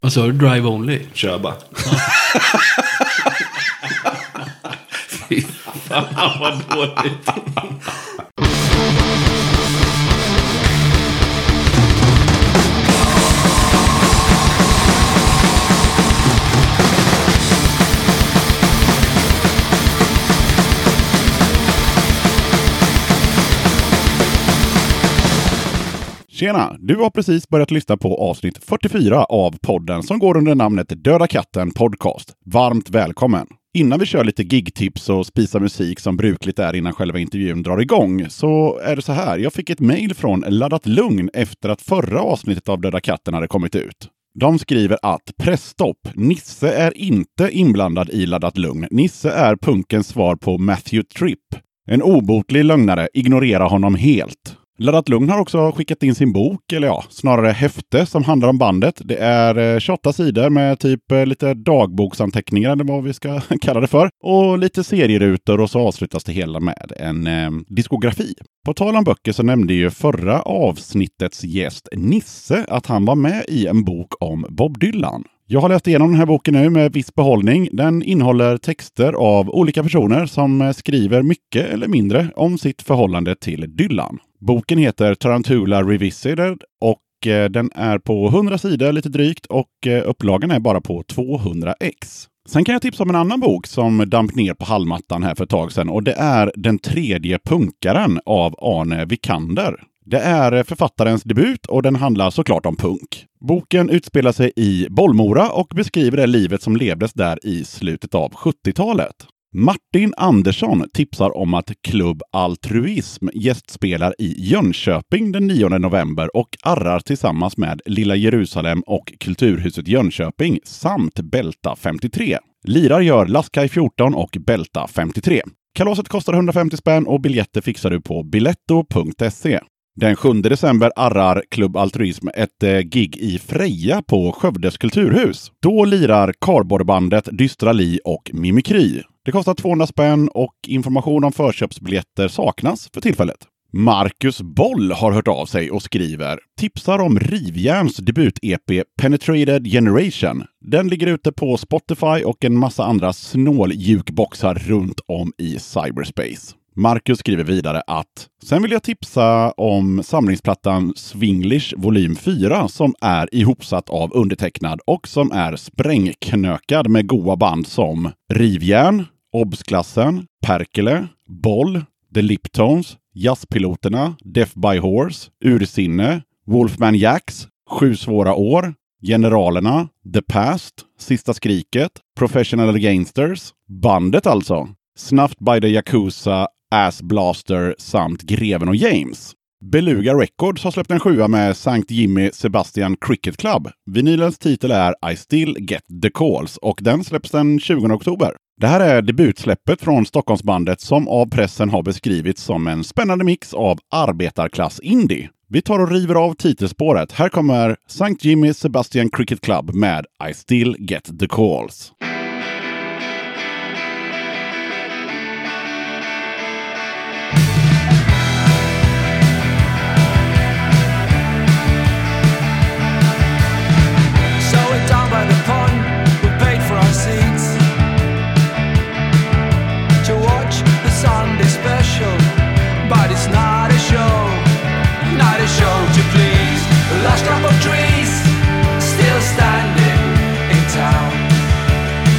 Vad sa du? Drive only? Kör bara. Fy fan vad dåligt. Tjena, du har precis börjat lyssna på avsnitt 44 av podden som går under namnet Döda katten podcast. Varmt välkommen! Innan vi kör lite gigtips och spisar musik som brukligt är innan själva intervjun drar igång så är det så här. Jag fick ett mejl från Laddat Lugn efter att förra avsnittet av Döda katten hade kommit ut. De skriver att pressstopp. Nisse är inte inblandad i Laddat Lugn. Nisse är punkens svar på Matthew Tripp. En obotlig lögnare, ignorera honom helt. Laddat Lugn har också skickat in sin bok, eller ja, snarare häfte som handlar om bandet. Det är 28 sidor med typ lite dagboksanteckningar, eller vad vi ska kalla det för. Och lite serierutor och så avslutas det hela med en diskografi. På tal om böcker så nämnde ju förra avsnittets gäst Nisse att han var med i en bok om Bob Dylan. Jag har läst igenom den här boken nu med viss behållning. Den innehåller texter av olika personer som skriver mycket eller mindre om sitt förhållande till Dylan. Boken heter Tarantula Revisited och den är på 100 sidor lite drygt och upplagan är bara på 200 ex. Sen kan jag tipsa om en annan bok som damp ner på hallmattan här för ett tag sedan och det är Den tredje punkaren av Arne Vikander. Det är författarens debut och den handlar såklart om punk. Boken utspelar sig i Bollmora och beskriver det livet som levdes där i slutet av 70-talet. Martin Andersson tipsar om att Klubb Altruism gästspelar i Jönköping den 9 november och arrar tillsammans med Lilla Jerusalem och Kulturhuset Jönköping samt Bälta 53. Lirar gör Laskaj 14 och Bälta 53. Kalaset kostar 150 spänn och biljetter fixar du på biletto.se. Den 7 december arrar Klubb Altruism ett gig i Freja på Skövdes kulturhus. Då lirar Kardborrebandet Dystra Li och Mimikry. Det kostar 200 spänn och information om förköpsbiljetter saknas för tillfället. Marcus Boll har hört av sig och skriver tipsar om Rivjärns debut-EP Penetrated Generation. Den ligger ute på Spotify och en massa andra snåljukboxar runt om i cyberspace. Marcus skriver vidare att sen vill jag tipsa om samlingsplattan Swinglish volym 4 som är ihopsatt av undertecknad och som är sprängknökad med goa band som Rivjärn, Obsklassen, Perkele, Boll, The Liptones, Jazzpiloterna, Death by Horse, Ursinne, Wolfman Jacks, 7 svåra år, Generalerna, The Past, Sista skriket, Professional Gangsters, bandet alltså, Snuffed by the Yakuza, Ass Blaster samt Greven och James. Beluga Records har släppt en 7 med St. Jimmy Sebastian Cricket Club. Vinylens titel är I Still Get the Calls och den släpps den 20 oktober. Det här är debutsläppet från Stockholmsbandet som av pressen har beskrivits som en spännande mix av arbetarklass indie. Vi tar och river av titelspåret. Här kommer St. Jimmy Sebastian Cricket Club med I Still Get the Calls. Last crop of trees still standing in town.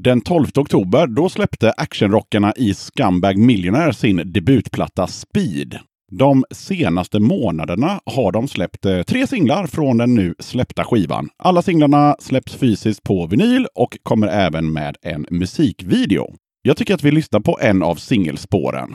Den 12 oktober då släppte actionrockarna i Scumbag Millionaire sin debutplatta Speed. De senaste månaderna har de släppt 3 singlar från den nu släppta skivan. Alla singlarna släpps fysiskt på vinyl och kommer även med en musikvideo. Jag tycker att vi lyssnar på en av singelspåren.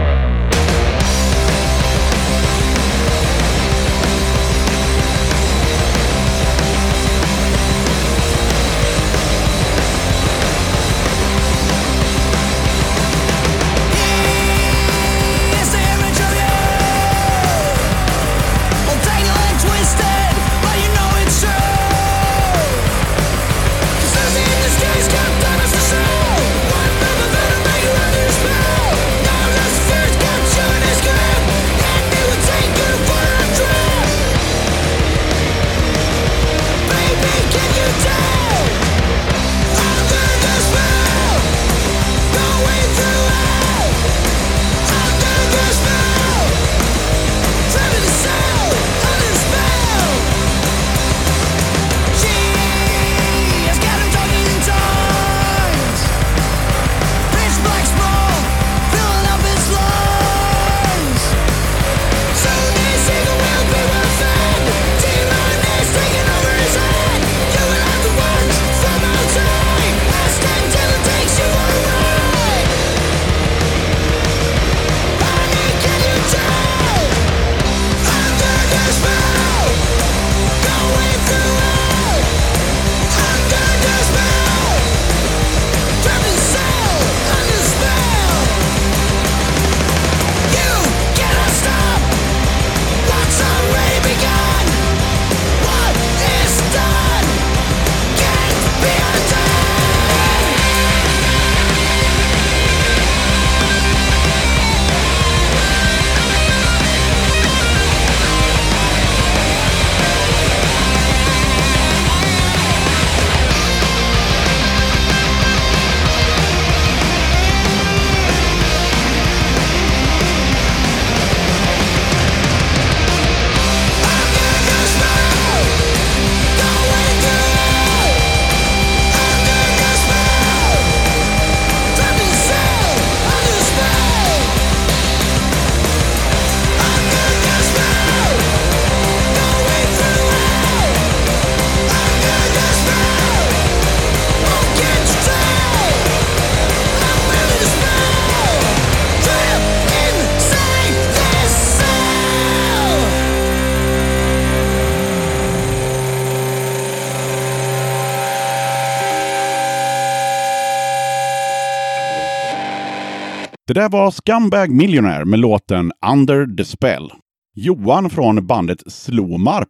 Det där var Scumbag Millionaire med låten Under the Spell. Johan från bandet Slommarp,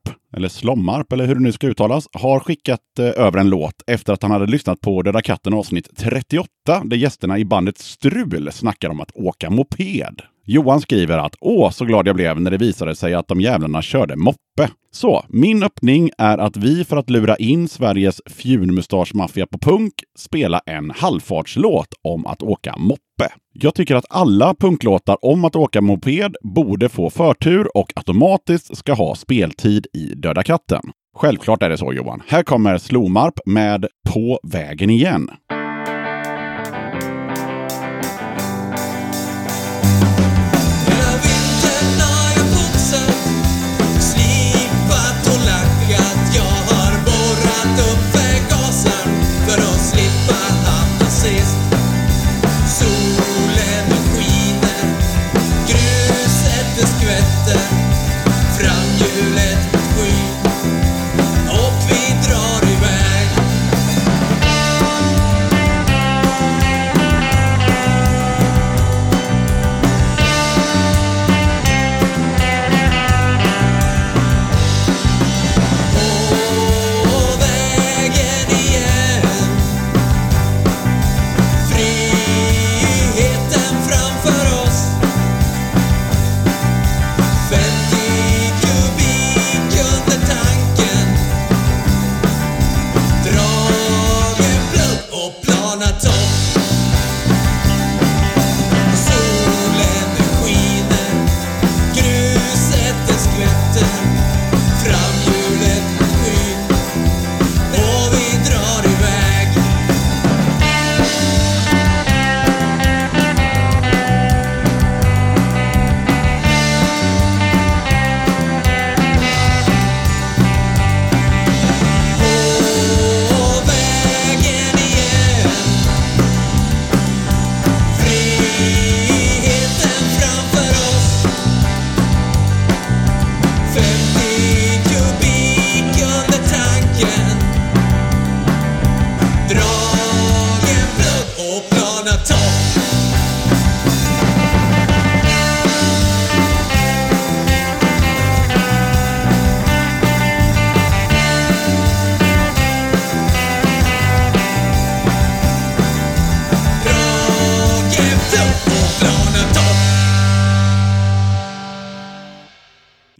eller hur det nu ska uttalas, har skickat över en låt efter att han hade lyssnat på Döda katten avsnitt 38 där gästerna i bandet Strul snackar om att åka moped. Johan skriver att så glad jag blev när det visade sig att de jävlarna körde moppe. Så, min öppning är att vi för att lura in Sveriges fjunmustaschmaffia på punk spela en halvfartslåt om att åka moppe. Jag tycker att alla punklåtar om att åka moped borde få förtur och automatiskt ska ha speltid i Döda katten. Självklart är det så, Johan. Här kommer Slommarp med På vägen igen. Och vi drar iväg.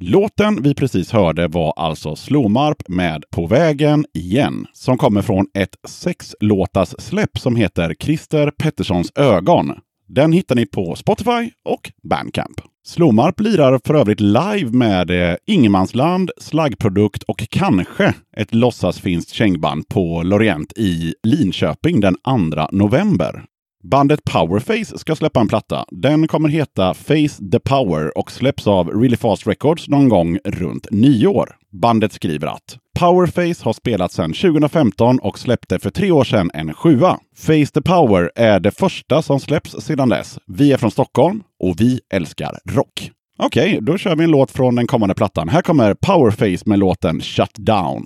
Låten vi precis hörde var alltså Slomarp med På vägen igen, som kommer från ett 6-låtars släpp som heter Christer Petterssons ögon. Den hittar ni på Spotify och Bandcamp. Slomarp lirar för övrigt live med Ingemansland, Slaggprodukt och kanske ett låtsasfinskt kängband på Lorient i Linköping den 2 november. Bandet Powerface ska släppa en platta. Den kommer heta Face the Power och släpps av Really Fast Records någon gång runt nyår. Bandet skriver att Powerface har spelat sedan 2015 och släppte för 3 år sedan en 7:a. Face the Power är det första som släpps sedan dess. Vi är från Stockholm och vi älskar rock. Okej, då kör vi en låt från den kommande plattan. Här kommer Powerface med låten Shut Down.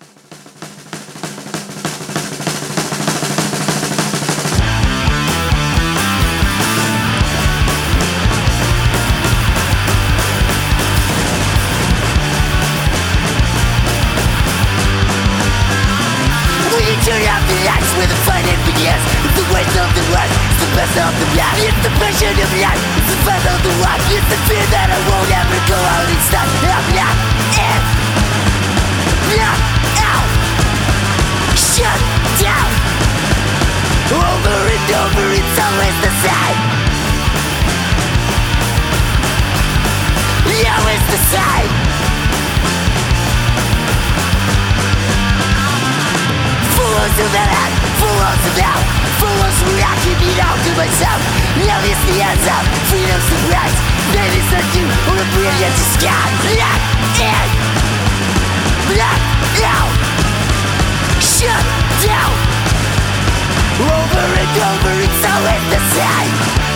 Where the fight it begins. It's the waste of the life. It's the best of the life. It's the passion of life. It's the fun of the life. It's the fear that I won't ever go out and stop. Out. Shut down. Over and over, it's always the same. Always the same. Fools of that act, fools of now. Fools who I keep it all to myself. Love is the answer, freedom's the price. That is the due or a brilliant sky. Lock in, lock out. Shut down. Over and over, it's always the same.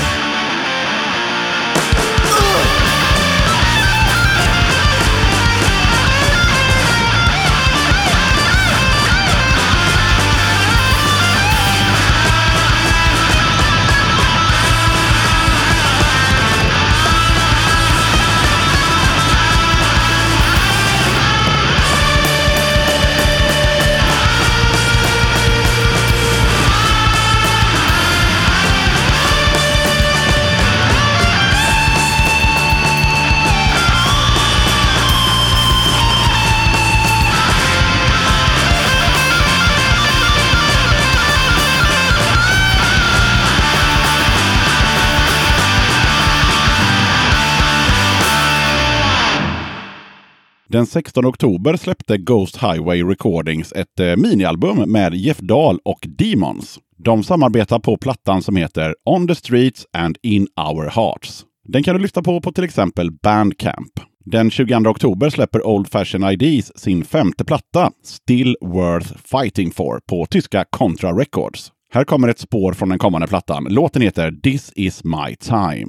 Den 16 oktober släppte Ghost Highway Recordings ett minialbum med Jeff Dahl och Demons. De samarbetar på plattan som heter On the Streets and In Our Hearts. Den kan du lyssna på till exempel Bandcamp. Den 22 oktober släpper Old Fashioned IDs sin 5:e platta, Still Worth Fighting For, på tyska Contra Records. Här kommer ett spår från den kommande plattan. Låten heter This Is My Time.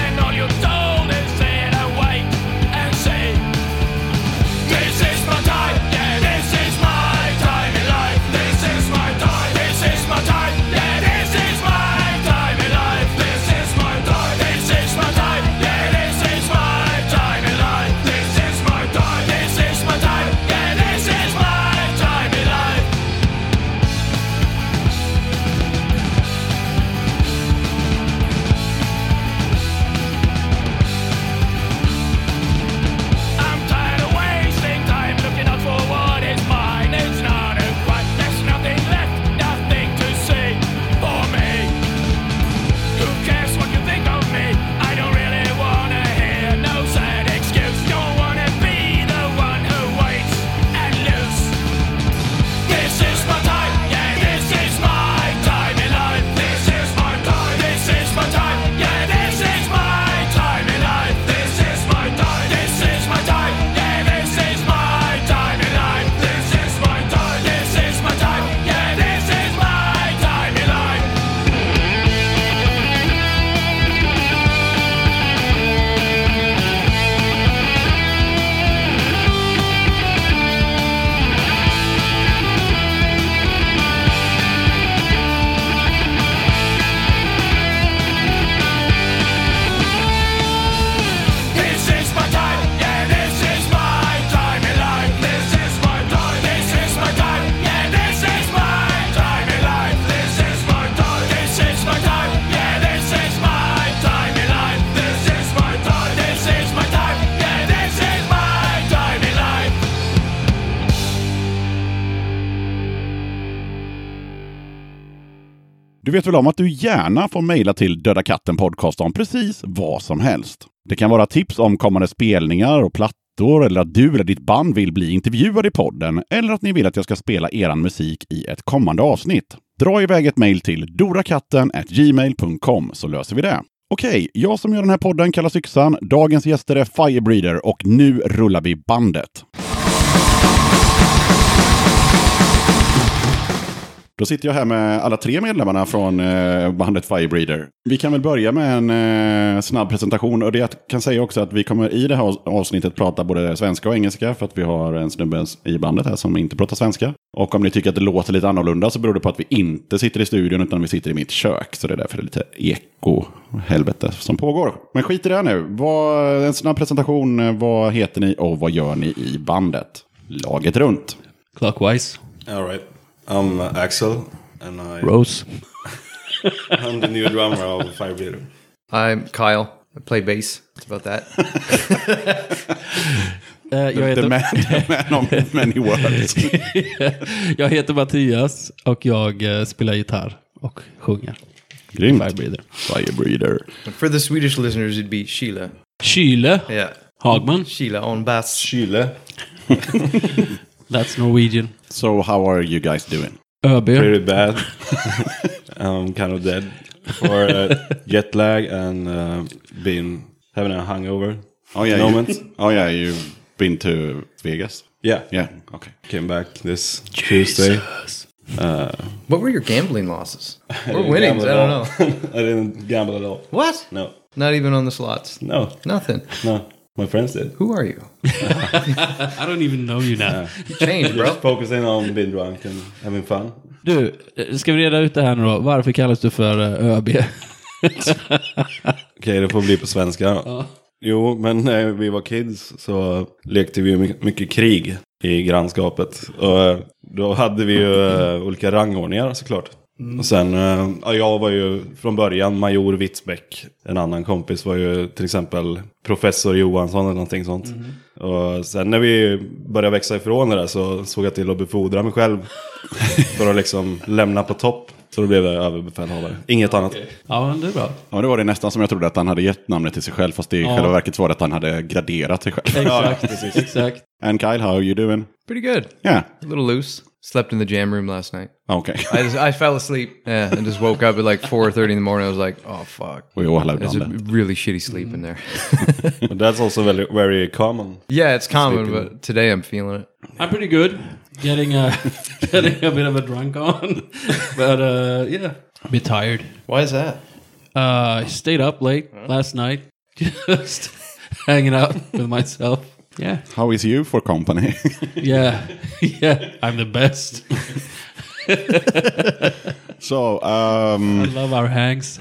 This is my time. Du vet väl om att du gärna får mejla till Döda katten podcast om precis vad som helst. Det kan vara tips om kommande spelningar och plattor, eller att du eller ditt band vill bli intervjuad i podden, eller att ni vill att jag ska spela eran musik i ett kommande avsnitt. Dra iväg ett mejl till dorakatten@gmail.com så löser vi det. Okej, jag som gör den här podden kallas Yxan. Dagens gäster är Firebreeder och nu rullar vi bandet. Då sitter jag här med alla 3 medlemmarna från bandet Firebreeder. Vi kan väl börja med en snabb presentation. Och det jag kan säga också att vi kommer i det här avsnittet prata både svenska och engelska. För att vi har en snubbe i bandet här som inte pratar svenska. Och om ni tycker att det låter lite annorlunda så beror det på att vi inte sitter i studion utan vi sitter i mitt kök. Så det är därför det är lite eko-helvete som pågår. Men skit i det nu. En snabb presentation. Vad heter ni och vad gör ni i bandet? Laget runt. Clockwise. All right. I'm Axel, and Rose. I'm the new drummer of Firebreeder. I'm Kyle. I play bass. It's about that. The man of many words. Jag heter Mattias och jag spelar gitarr och sjunger. Grymt. Firebreeder. For the Swedish listeners, it'd be Sheila. Kyle. Yeah. Hagman. Sheila on bass. Chile. That's Norwegian. So how are you guys doing? ÖB. Pretty bad. I'm kind of dead for jet lag and been having a hangover. Oh yeah, moment. You've been to Vegas. Yeah. Okay. Came back this Tuesday. What were your gambling losses? I Or didn't winnings? I gamble don't at know. all. I didn't gamble at all. What? No. Not even on the slots? No. Nothing. No. My friends did. Who are you? I don't even know you now. You changed, bro. Just focusing on being drunk and having fun. Du, ska vi reda ut det här nu då? Varför kallas du för ÖB? Okej, det får bli på svenska. Ja. Jo, men när vi var kids så lekte vi mycket krig i grannskapet. Och då hade vi ju olika rangordningar såklart. Och sen, jag var ju från början major Witzbäck. En annan kompis var ju till exempel professor Johansson eller någonting sånt. Och sen när vi började växa ifrån det där så såg jag till att befordra mig själv. För att liksom lämna på topp. Så då blev jag överbefälhavare. Inget annat. Ja, men det är bra. Ja, det var det nästan som jag trodde att han hade gett namnet till sig själv. Fast det i själva verket var att han hade graderat sig själv. Exakt, exakt. And Kyle, how are you doing? Pretty good. Yeah. A little loose. Slept in the jam room last night. Okay. I fell asleep and just woke up at like 4:30 in the morning. I was like, oh, fuck. We all have It's done a that. really shitty sleep in there. But that's also very, very common. Yeah, it's common, but today I'm feeling it. I'm pretty good. Getting a bit of a drunk on. But yeah, a bit tired. Why is that? I stayed up late last night. Just hanging out with myself. Yeah. How is you for company? Yeah. I'm the best. So, I love our hangs.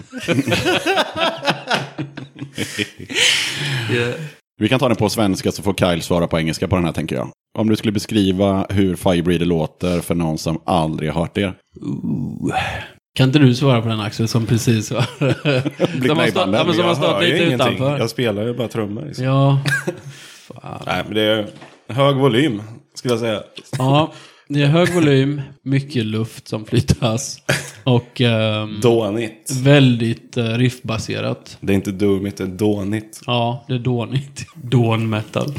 Yeah. vi kan ta den på svenska så får Kyle svara på engelska på den här, tänker jag. Om du skulle beskriva hur Firebreeder låter för någon som aldrig har hört det. Kan inte du svara på den, Axel, som precis var? Som har stått lite utanför. Jag spelar ju bara trummor. Liksom. Ja. Nej, men det är hög volym, skulle jag säga. Ja, det är hög volym, mycket luft som flyttas och Dånigt. väldigt riffbaserat. Det är inte dummigt, det är dånigt. Ja, det är dånigt. Dawn metal.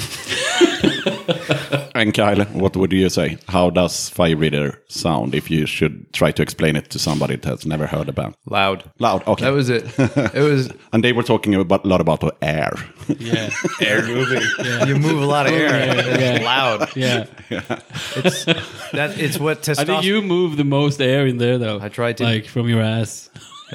And Kyle, what would you say? How does Firebreeder sound if you should try to explain it to somebody that has never heard a band? Loud. Loud, okay. That was it. It was... And they were talking a lot about the air. Yeah. Air moving. You move a lot of air. Yeah. It's loud. Yeah. It's what I testosterone... think you move the most air in there, though. I tried to. Like, from your ass.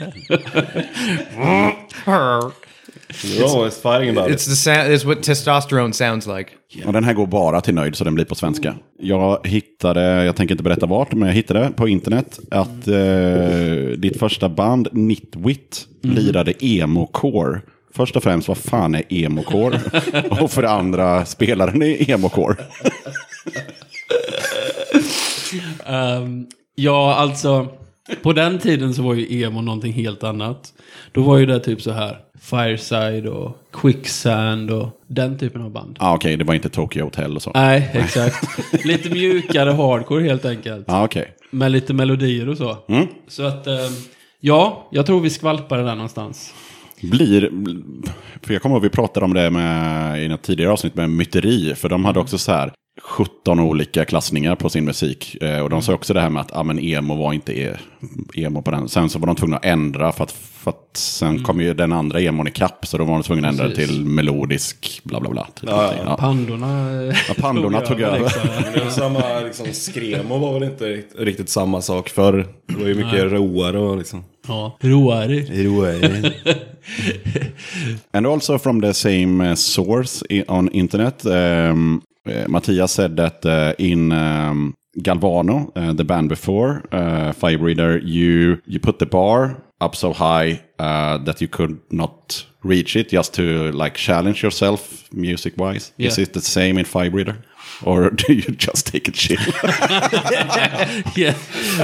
You're always fighting about It's the sound. It's what testosterone sounds like. Och den här går bara till nöjd så den blir på svenska. Jag hittade, jag tänker inte berätta vart, men jag hittade på internet att ditt första band, Nitwit, lirade emo-core. Först och främst, vad fan är emo-core? Och för det andra, spelaren är emo-core. Ja, alltså... På den tiden så var ju emo någonting helt annat. Då var ju det typ så här Fireside och Quicksand och den typen av band. Okej, det var inte Tokyo Hotel och så. Nej, exakt. Lite mjukare hardcore helt enkelt. Okej. Med lite melodier och så. Så att Ja, jag tror vi skvalpar det där någonstans. För jag kommer ihåg vi pratade om det i något tidigare avsnitt med Myteri. För de hade också så här 17 olika klassningar på sin musik. Och de sa också det här med att men emo var inte emo på den. Sen så var de tvungna att ändra för att sen kom ju den andra emon i kapp. Så då var de tvungna att ändra till melodisk bla bla bla. Typ Ja. Pandorna tog över. Men samma liksom, skremo var väl inte riktigt samma sak för det var ju mycket roare och liksom. Ja, roare. And also from the same source on internet, Mattias said that in Galvano, the band before, Firebreather, you put the bar up so high that you could not reach it, just to like challenge yourself music-wise. Yeah. Is it the same in Firebreather? Or do you just take it chill? Yeah.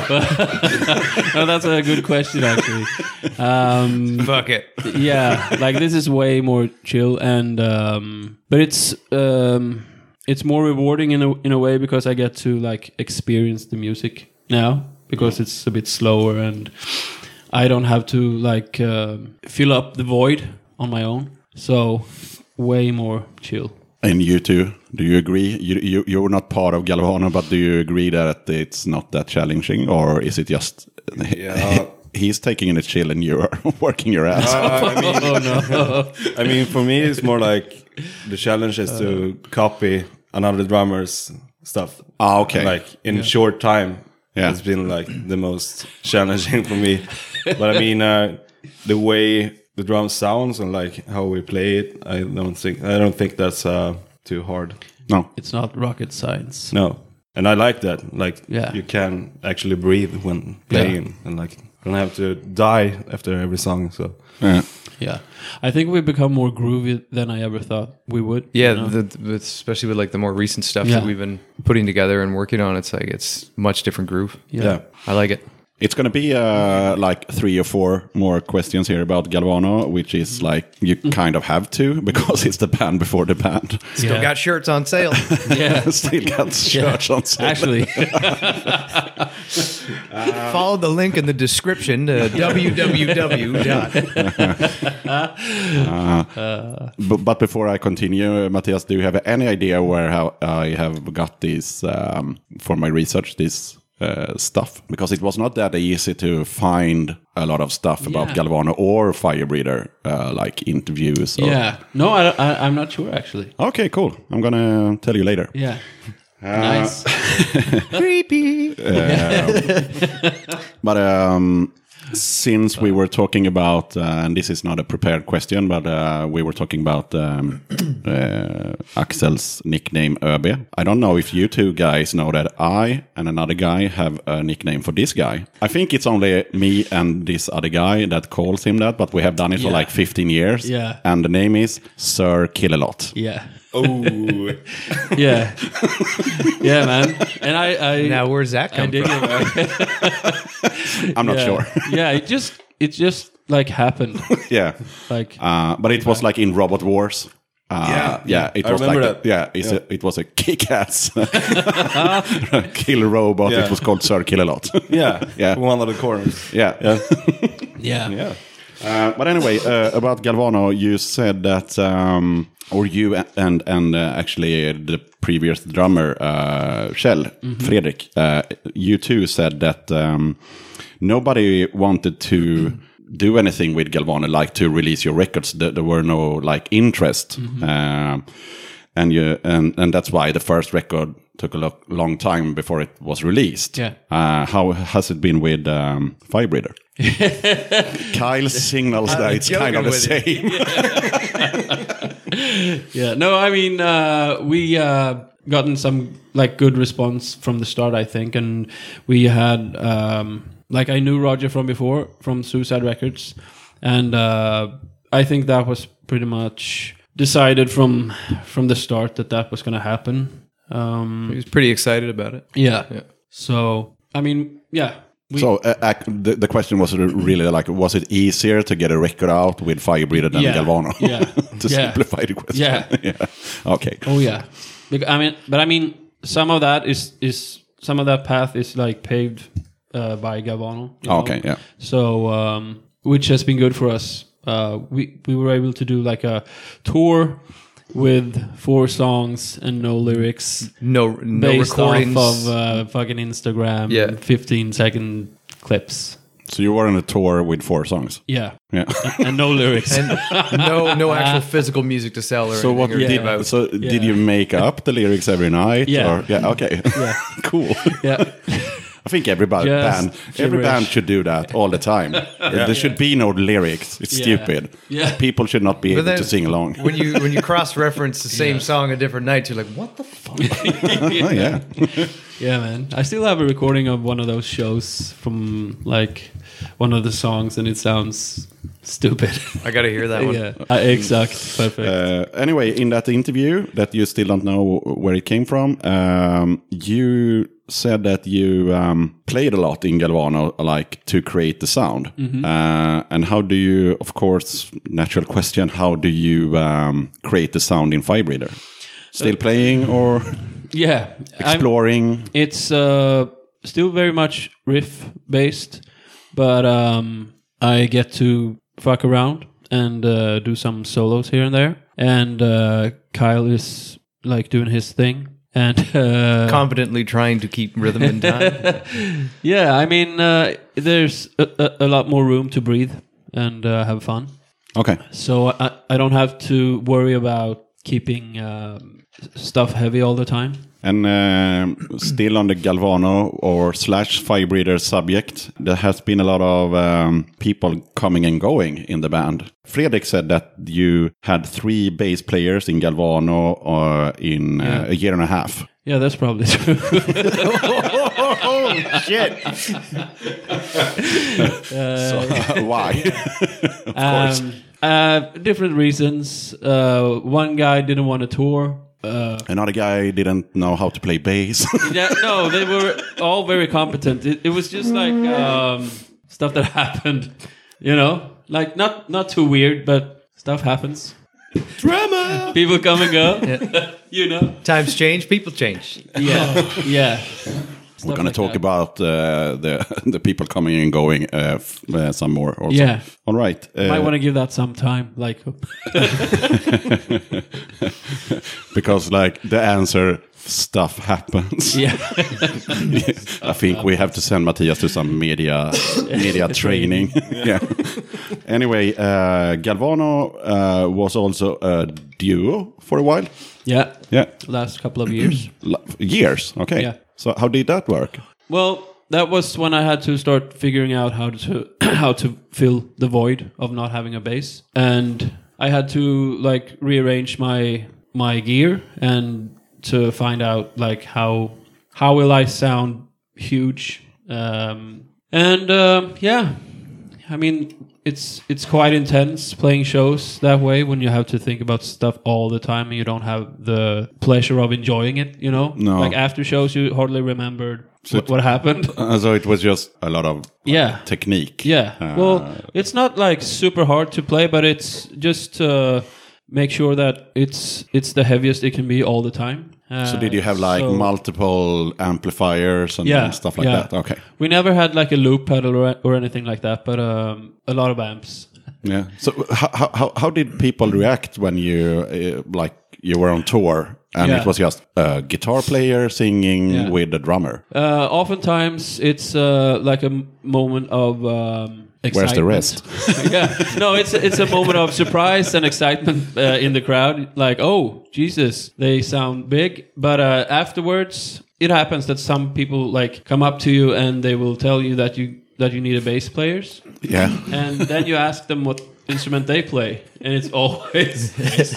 No, that's a good question, actually. Fuck it. Yeah, like this is way more chill, and but it's more rewarding in a way because I get to like experience the music now because it's a bit slower and I don't have to like fill up the void on my own. So way more chill. And you too, do you agree? You're not part of Galvano, but do you agree that it's not that challenging, or is it just he's taking it chill and you're working your ass off? I mean, for me, it's more like the challenge is to copy another drummer's stuff. Okay. Like in short time, it's been like the most challenging for me. But I mean, the way the drum sounds and like how we play it, I don't think that's too hard. No, it's not rocket science. No, and I like that. Like you can actually breathe when playing, and like don't have to die after every song. So yeah, I think we become more groovy than I ever thought we would. Yeah, especially with like the more recent stuff that we've been putting together and working on. It's like it's much different groove. Yeah. I like it. It's going to be like 3 or 4 more questions here about Galvano, which is like you kind of have to because it's the band before the band. Still got shirts on sale. Still got shirts on sale. Actually. Follow the link in the description to www. But before I continue, Matthias, do you have any idea how I have got this for my research, this stuff? Because it was not that easy to find a lot of stuff about Galvano or Firebreather, like interviews. No, I'm not sure actually. Okay, cool. I'm gonna tell you later. Yeah. Nice. Creepy. But since we were talking about, and this is not a prepared question, but we were talking about Axel's nickname ÖB. I don't know if you two guys know that I and another guy have a nickname for this guy. I think it's only me and this other guy that calls him that, but we have done it for like 15 years. Yeah. And the name is Sir Kill-A-Lot. Yeah. Oh. Yeah. Yeah, man. And I now where's that come from? I'm not sure. Yeah, it just like happened. Yeah. Like but it was like in Robot Wars. It I was remember like that. It was a kick-ass kill robot. Yeah. It was called Sir Kill-A-Lot. Yeah. One of the corners. Yeah. yeah. But anyway, about Galvano, you said that, or you and actually the previous drummer, Kjell, Fredrik, you two said that nobody wanted to do anything with Galvano, like to release your records. There were no like interest, and that's why the first record took a long time before it was released. Yeah. How has it been with Firebreather? Kyle signals that it's kind of the same. Yeah. No, I mean we gotten some like good response from the start, I think, and we had like I knew Roger from before from Suicide Records, and I think that was pretty much decided from the start that was going to happen. He was pretty excited about it. Yeah. So I mean, yeah. So the question was really like, was it easier to get a record out with Firebreather than Galvano? Yeah. To simplify the question. Yeah. Okay. Oh yeah. I mean, some of that is some of that path is like paved by Galvano. you know. Okay, yeah. So, which has been good for us. We were able to do like a tour with 4 songs and no lyrics, No based recordings. off of fucking Instagram, Yeah. 15-second clips. So you were on a tour with 4 songs. Yeah, Yeah. and no lyrics. and no actual physical music to sell or So what anything or did give out. so did you make up the lyrics every night? Yeah. Or, yeah. Okay. Yeah. Cool. Yeah, I think every Just band gibberish. should do that all the time. There should be no lyrics. It's Yeah. stupid. Yeah. People should not be But able then to sing along. when you cross reference the same song a different night, you're like, what the fuck? Oh, yeah. yeah, man. I still have a recording of one of those shows from like one of the songs, and it sounds stupid. I gotta hear that one. Yeah, exact, perfect. Anyway, in that interview that you still don't know where it came from, you said that you played a lot in Galvano, like to create the sound. And how do you, of course, natural question, how do you create the sound in Firebreather? Still playing or Yeah, exploring? it's still very much riff based, but I get to fuck around and do some solos here and there. And Kyle is like doing his thing, and Confidently trying to keep rhythm in time. yeah, I mean, there's a lot more room to breathe and have fun. Okay. So I don't have to worry about keeping stuff heavy all the time. And still on the Galvano or / Firebreather subject, there has been a lot of people coming and going in the band. Fredrik said that you had 3 bass players in Galvano in a year and a half. Yeah, that's probably true. Oh, shit! Why? Of course. Different reasons. One guy didn't want to tour. Another guy didn't know how to play bass. Yeah, no, they were all very competent. It was just like stuff that happened, you know, like not too weird, but stuff happens. Drama! People come and go, you know. Times change, people change. Yeah, yeah. We're going to talk about the people coming and going some more also. Yeah. All right. Might want to give that some time, like. Because like the answer, stuff happens. Yeah. I think we have to send Matthias to some media training. Yeah. Anyway, Galvano was also a duo for a while. Yeah. Yeah. Last couple of years. Years. Okay. Yeah. So how did that work? Well, that was when I had to start figuring out how to fill the void of not having a bass, and I had to like rearrange my gear and to find out like how will I sound huge, yeah, I mean it's quite intense playing shows that way when you have to think about stuff all the time and you don't have the pleasure of enjoying it, you know. No. Like after shows you hardly remembered what happened. So it was just a lot of technique. Yeah. Well, it's not like super hard to play, but it's just make sure that it's the heaviest it can be all the time. So did you have like multiple amplifiers and stuff like that? Okay. We never had like a loop pedal or anything like that, but a lot of amps. Yeah. So how did people react when you you were on tour and it was just a guitar player singing with a drummer? Oftentimes it's like a moment of excitement. Where's the rest? Yeah, no, it's a moment of surprise and excitement in the crowd. Like, oh Jesus, they sound big. But afterwards, it happens that some people like come up to you and they will tell you that you need a bass player. Yeah. And then you ask them what instrument they play, and it's always.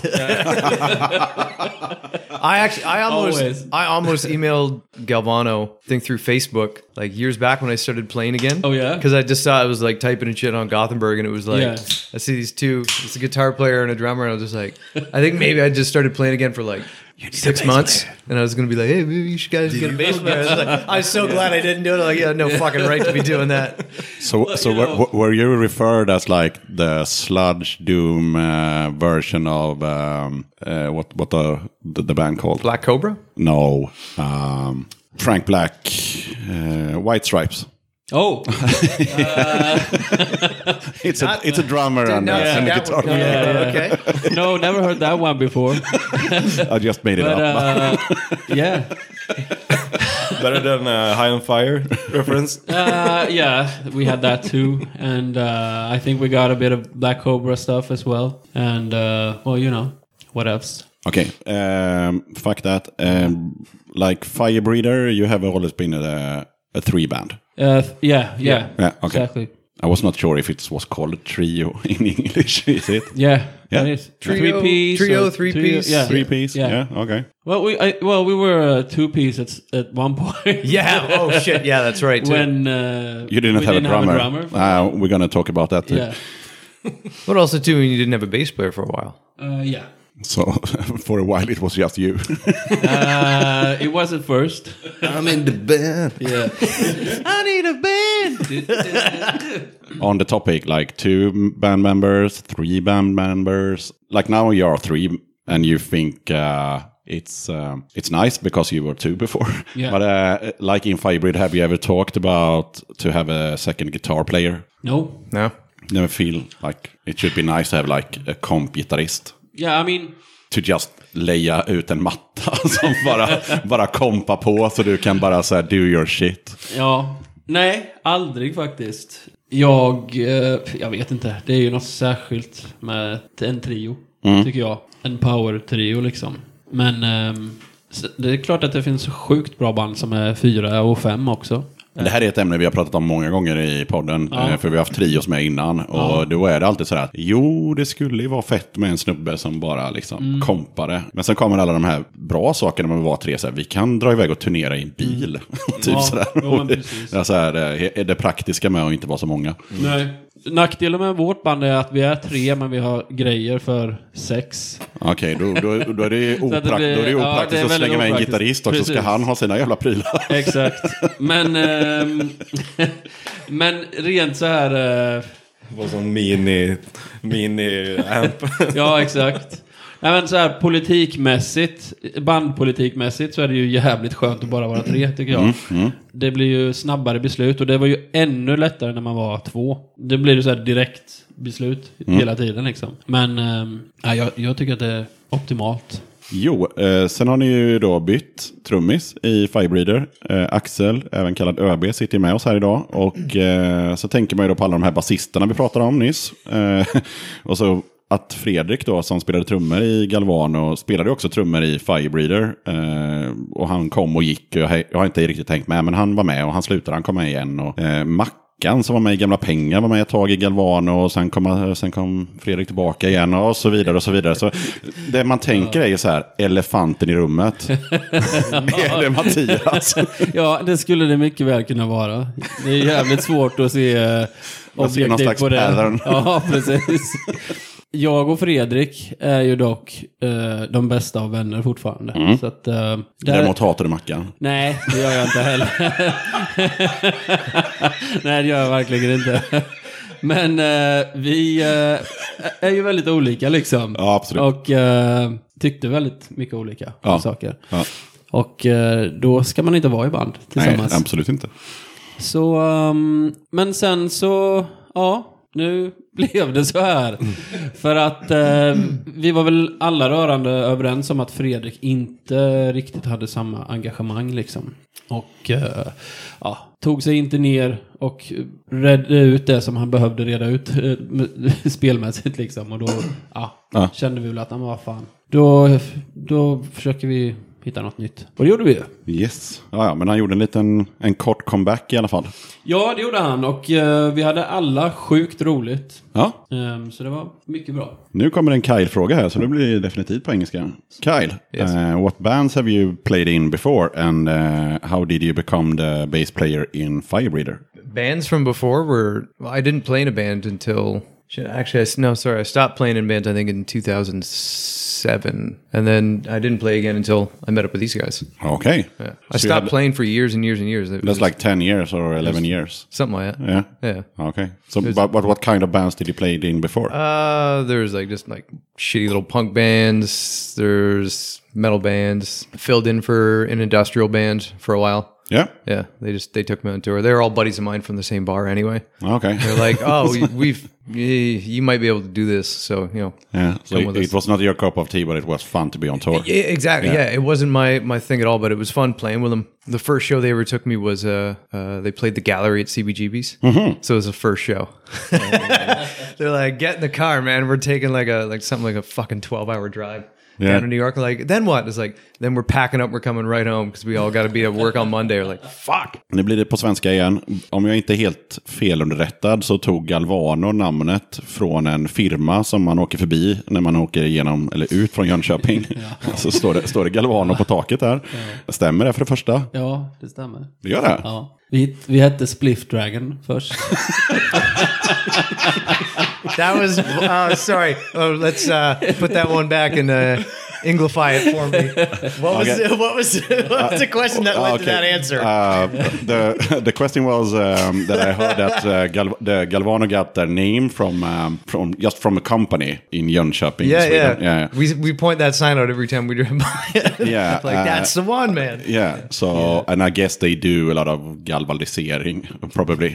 I almost emailed Galvano through Facebook like years back when I started playing again. Oh yeah, because I just saw it was like typing and shit on Gothenburg, and it was like I see these two. It's a guitar player and a drummer, and I was just like, I think maybe I just started playing again for like 6 months, and I was gonna be like, hey, maybe you should guys get a bass player. I was so glad I didn't do it. Like, yeah, no fucking right to be doing that. So were you referred as like the sludge doom version of what the band called? Black Cobra? No, Frank Black, White Stripes. Oh, It's a drummer and a guitar player. Okay. no, never heard that one before. I just made it But up. yeah, Better than High on Fire reference. yeah, we had that too, and I think we got a bit of Black Cobra stuff as well, and well, you know, what else? Okay, fuck that. Like Firebreather, you have always been a 3-band. Yeah, Yeah, okay. exactly. I was not sure if it was called a trio in English, is it? Yeah, Yeah. that is Trio, 3-piece. Yeah, 3-piece? Yeah. Yeah, okay. Well, we were a 2-piece at one point. Yeah. Oh shit. Yeah, that's right. Too. When You didn't we have a didn't drummer. We're going to talk about that too. Yeah, But also too, when you didn't have a bass player for a while. yeah. So for a while it was just you. It was at first. I'm in the band. Yeah. I need a band. On the topic, like 2 band members, 3 band members. Like now you are 3 and you think it's nice because you were 2 before. Yeah. But like in Firebreather, have you ever talked about to have a second guitar player? No. No. Never feel like it should be nice to have like a komp-gitarrist. Yeah, I mean, To just leja ut en matta som bara kompa på så du kan bara så här do your shit. ja. Nej, aldrig faktiskt. Jag vet inte. Det är ju något särskilt med en trio, tycker jag. En power-trio liksom. Men det är klart att det finns sjukt bra band som är 4 och 5 också. Det här är ett ämne vi har pratat om många gånger i podden. För vi har haft trios med innan. Och då är det alltid så här att jo, det skulle ju vara fett med en snubbe som bara liksom kompade. Men sen kommer alla de här bra sakerna med att vara 3. Så här, vi kan dra iväg och turnera i en bil. Typ Ja, sådär. jo, men precis. Det är så här, är det praktiska med att inte vara så många. Nej. Nackdelen med vårt band är att vi är 3 men vi har grejer för 6. Okej, då är det ju Så att det blir- då är det ja, opraktiskt det är att väldigt slänga med en opraktiskt. gitarrist också. Ska Precis. han ha sina jävla prylar? Exakt. Men rent så här... Vad som mini-amp. Ja, exakt. Nej, men så här bandpolitikmässigt så är det ju jävligt skönt att bara vara 3, tycker jag. Det blir ju snabbare beslut och det var ju ännu lättare när man var 2. Det blir ju så här direkt beslut hela tiden liksom. Men jag tycker att det är optimalt. Jo, sen har ni ju då bytt trummis i Firebreather. Axel, även kallad ÖB, sitter med oss här idag. Och så tänker man ju då på alla de här basisterna vi pratade om nyss. Och så att Fredrik då, som spelade trummor i Galvano, spelade också trummor i Firebreather. Och han kom och gick. Jag har inte riktigt tänkt med, men han var med och han slutade, han kom med igen. Och Mackan som var med i Gamla Pengar var med ett tag i Galvano och sen kom Fredrik tillbaka igen och så vidare och så vidare. Så det man tänker är ju så här, elefanten i rummet. Är det Mattias? Ja, det skulle det mycket väl kunna vara. Det är jävligt svårt att se någon objektivt slags på det. pattern. Ja, precis. Jag och Fredrik är ju dock de bästa av vänner fortfarande. Så att, Däremot hatar du Mackan. Nej, det gör jag inte heller. Nej, det gör jag verkligen inte. Men vi är ju väldigt olika liksom. Ja, absolut. Och tyckte väldigt mycket olika saker. Ja. Och då ska man inte vara i band tillsammans. Nej, absolut inte. Så, men sen så, ja, nu blev det så här. För att vi var väl alla rörande överens om att Fredrik inte riktigt hade samma engagemang liksom. Och tog sig inte ner och redde ut det som han behövde reda ut spelmässigt liksom. Och då kände vi väl att, vad fan. Då försöker vi hitta något nytt. Och det gjorde vi ju. Yes. Ja, men han gjorde en kort comeback i alla fall. Ja, det gjorde han. Och vi hade alla sjukt roligt. Ja. Så det var mycket bra. Nu kommer en Kyle-fråga här, så det blir definitivt på engelska. Kyle, what bands have you played in before and how did you become the bass player in Firebreather? Bands from before were... Well, I didn't play in a band until... Actually, I stopped playing in bands, I think, in 2007. And then I didn't play again until I met up with these guys. Okay. Yeah. I stopped playing for years and years and years. That's like 10 years or 11 years. Something like that. Yeah. Yeah. Okay. So, but what kind of bands did you play in before? There's just shitty little punk bands. There's metal bands. Filled in for an industrial band for a while. Yeah. Yeah, they took me on tour. They're all buddies of mine from the same bar anyway. Okay. They're like, oh, you might be able to do this. So, you know. Yeah. So come with it us. was not your cup of tea, but it was fun to be on tour. Yeah, exactly. Yeah. It wasn't my thing at all, but it was fun playing with them. The first show they ever took me was they played the Gallery at CBGB's. Mm-hmm. So it was the first show. They're like, get in the car, man. We're taking something like a fucking 12-hour drive. Yeah. Down to New York, like, then what? It's like, then we're packing up, we're coming right home because we all got to be at work on Monday. We're like, fuck. Nu blir det på svenska igen. Om jag inte är helt felunderrättad så tog Galvano namnet från en firma som man åker förbi när man åker igenom eller ut från Jönköping. Så står det Galvano på taket där. Stämmer det för det första? Ja, det stämmer. Det gör det? Ja. Vi hette Spliff Dragon först. That was, sorry. Oh, let's put that one back and Englify it for me. What was the question that led to that answer? The question was that I heard that the Galvano got their name from a company in Jönköping, Sweden. Yeah. We point that sign out every time we drive by. Yeah, that's the one, man. Yeah. So, and I guess they do a lot of galvanisering, probably,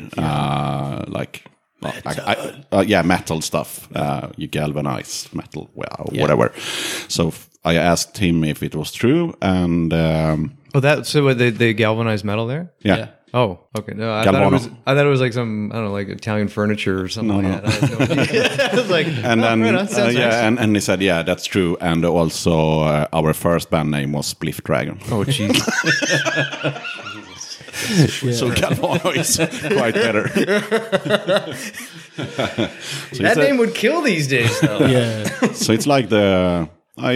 metal stuff. You galvanize metal, whatever. So I asked him if it was true, and they galvanized metal there. Yeah. Oh, okay. No, I Galvano. thought it was like some, I don't know, like Italian furniture or something like that. I had no idea. I was like, And then, nice. and he said, yeah, that's true. And also, our first band name was Spliff Dragon. Oh, jeez. So Galvano is quite better. So That name would kill these days, though. Yeah. So it's like the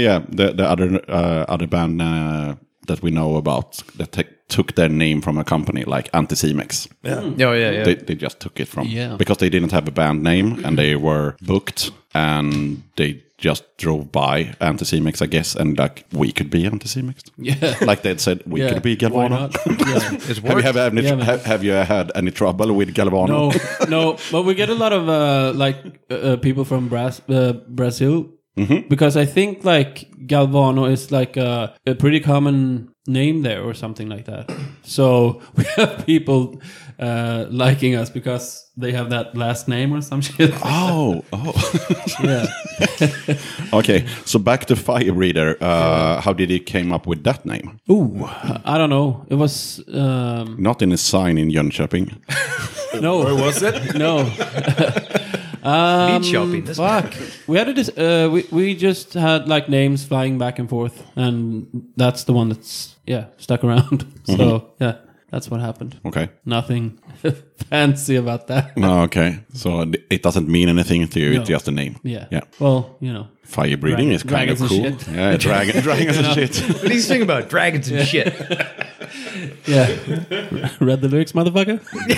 other band that we know about that took their name from a company like Anticimex. Yeah. Oh, yeah. They just took it from because they didn't have a band name and they were booked and they just drove by Anticimex, I guess, and like we could be Anticimex. Yeah. Like they said, we could be Galvano. It's worked. Have you had any trouble with Galvano? No, but we get a lot of people from Brazil. Mm-hmm. Because I think like Galvano is like a pretty common name there or something like that. So we have people liking us because they have that last name or some shit. Oh. Yeah. Okay, so back to Fire Breather. How did he came up with that name? Ooh, I don't know. It was Not in a sign in Jönköping. no. Where was it? No. Shopping. Fuck. We had we just had like names flying back and forth, and that's the one that's stuck around. So that's what happened. Okay. Nothing fancy about that. No, okay. So it doesn't mean anything to you. No. It's just a name. Yeah. Well, you know. Fire breathing is kind of dragons cool. and shit. Yeah, dragons and shit. What do you think about dragons and shit? Yeah. Read the lyrics, motherfucker.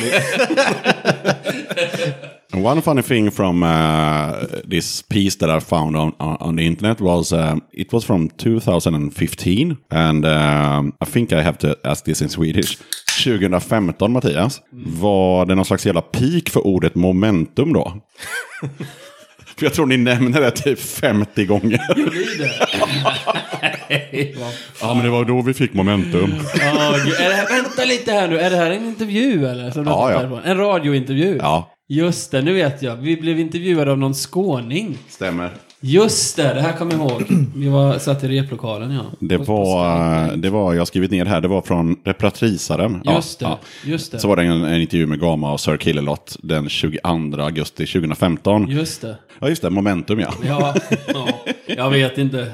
And one funny thing from this piece that I found on the internet was it was from 2015, and I think I have to ask this in Swedish. 2015, Mattias, var det någon slags jävla peak för ordet momentum då? För jag tror ni nämner det typ 50 gånger. Ja, men det var då vi fick momentum. Vänta lite här nu. Är det här en intervju eller? Som Ja. En radiointervju? Ja. Just det, nu vet jag. Vi blev intervjuade av någon skåning. Stämmer. Just det här kommer jag ihåg. Vi satt i replokalen, ja. Det var, jag har skrivit ner här, det var från Repratrisaren. Just det. Så var det en intervju med Gama och Sir Killalot den 22 augusti 2015. Just det. Ja, just det, momentum, ja. Ja, jag vet inte.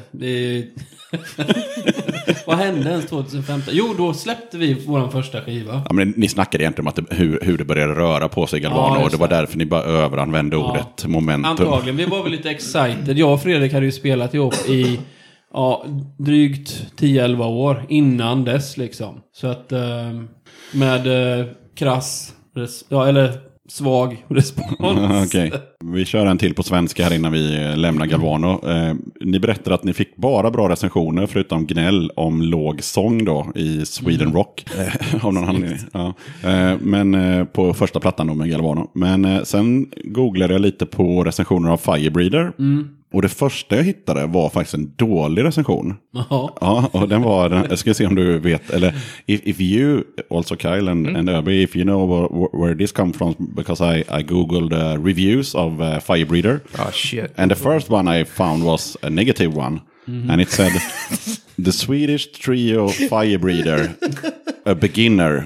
Vad hände ens 2015? Jo, då släppte vi vår första skiva. Ja, men ni snackade egentligen om att hur det började röra på sig, Galvano, och det var därför ni bara överanvände ordet momentum. Antagligen, vi var väl lite excited. Jag och Fredrik hade ju spelat ihop i drygt 10-11 år innan dess liksom. Så att med krass, eller svag respons. Okej. Vi kör en till på svenska här innan vi lämnar Galvano. Ni berättar att ni fick bara bra recensioner förutom gnäll om låg sång då i Sweden Rock. Av någon anledning. Ja. Men på första plattan då med Galvano. Men sen googlade jag lite på recensioner av Fire Breather. Och det första jag hittade var faktiskt en dålig recension. Jaha. Ja, och den var, jag ska se om du vet, eller if you, also Kyle and Öby, if you know where this comes from, because I googled reviews of Firebreeder. Oh shit. And the first one I found was a negative one. And it said, the Swedish trio Firebreeder, a beginner,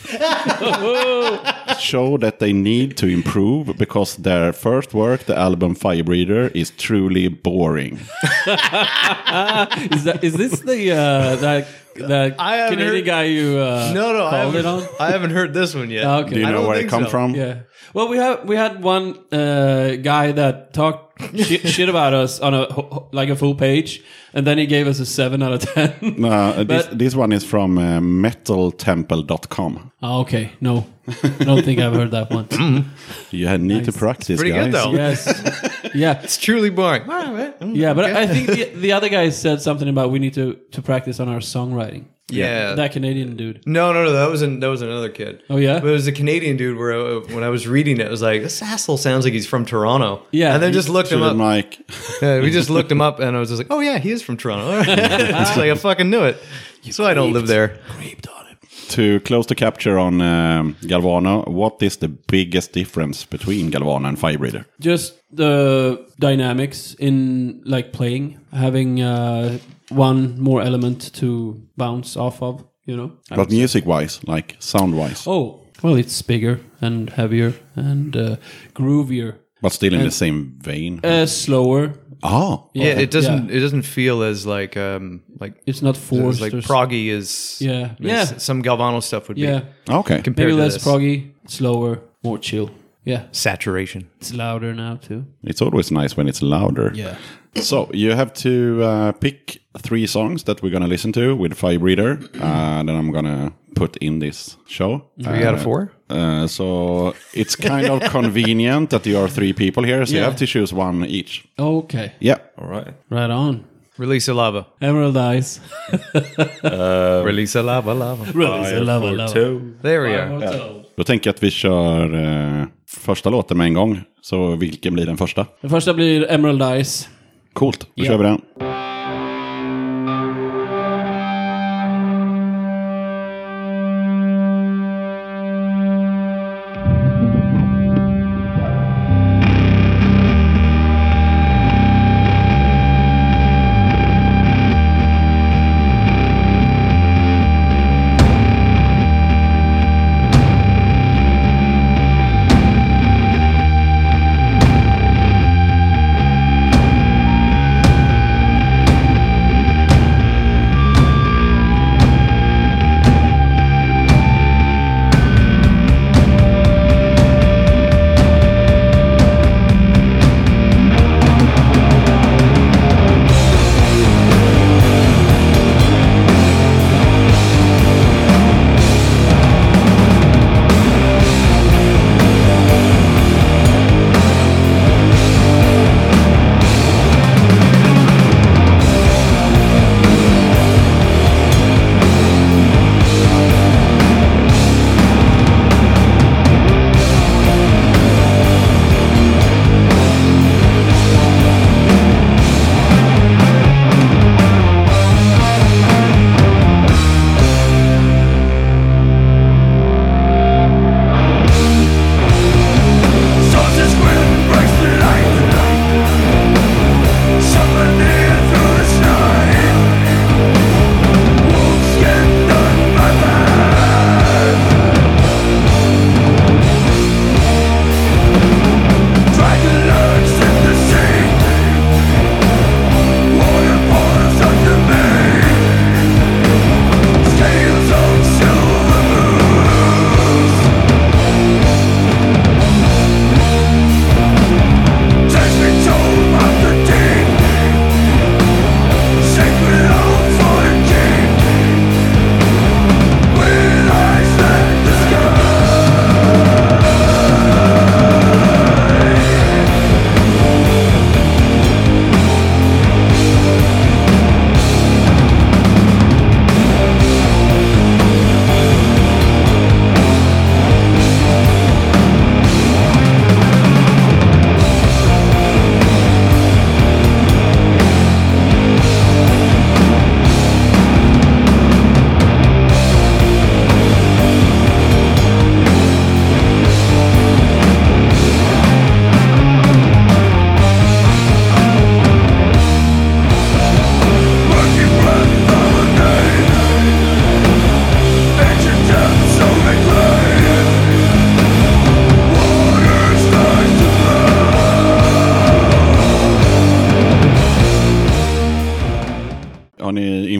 show that they need to improve because their first work, the album Firebreeder, is truly boring. Is this the Canadian guy you called it on? I haven't heard this one yet. Okay. Do you I know don't where it think comes so. from? Yeah. Well, we had one guy that talked shit about us on a full page, and then he gave us a 7 out of 10. No, this one is from metaltemple.com. Oh, okay. No, I don't think I've heard that one. You need to practice, Pretty guys. good though. Yes. Yeah. It's truly boring. Yeah, but I think the other guy said something about we need to practice on our songwriting. Yeah. That Canadian dude. No, that was another kid. Oh, yeah? But it was a Canadian dude where when I was reading it, I was like, this asshole sounds like he's from Toronto. Yeah. And then just looked him To the up. mic. Yeah, we just looked him up, and I was just like, oh yeah, he is from Toronto. All right. It's like I fucking knew it. So I don't live there. To close the capture on Galvano, what is the biggest difference between Galvano and Firebreeder? Just the dynamics in like playing, having one more element to bounce off of, you know. But music-wise, like sound-wise, Oh, well, it's bigger and heavier and groovier, but still in the same vein. slower. Oh, Yeah, it doesn't. Yeah. It doesn't feel as like It's not forced. like or proggy as Yeah. as Yeah. some Galvano stuff would Yeah, be. okay. Compared maybe to less this. proggy, slower, more chill. Yeah, Saturation. it's louder now too. It's always nice when it's louder. Yeah. So you have to pick 3 songs that we're going to listen to with Firebreeder. Then I'm going to put in this show. 3 out of 4. So it's kind of convenient that you are 3 people here. So you Yeah. have to choose one each. Okay. Yeah. All right. Right on. Release a lava. Emerald Eyes. Release a lava. Release a lava, lava. There we are. Då tänker jag att vi kör första låten med en gång. Så vilken blir den första? Den första blir Emerald Eyes. Coolt, då Ja. kör vi den. Fire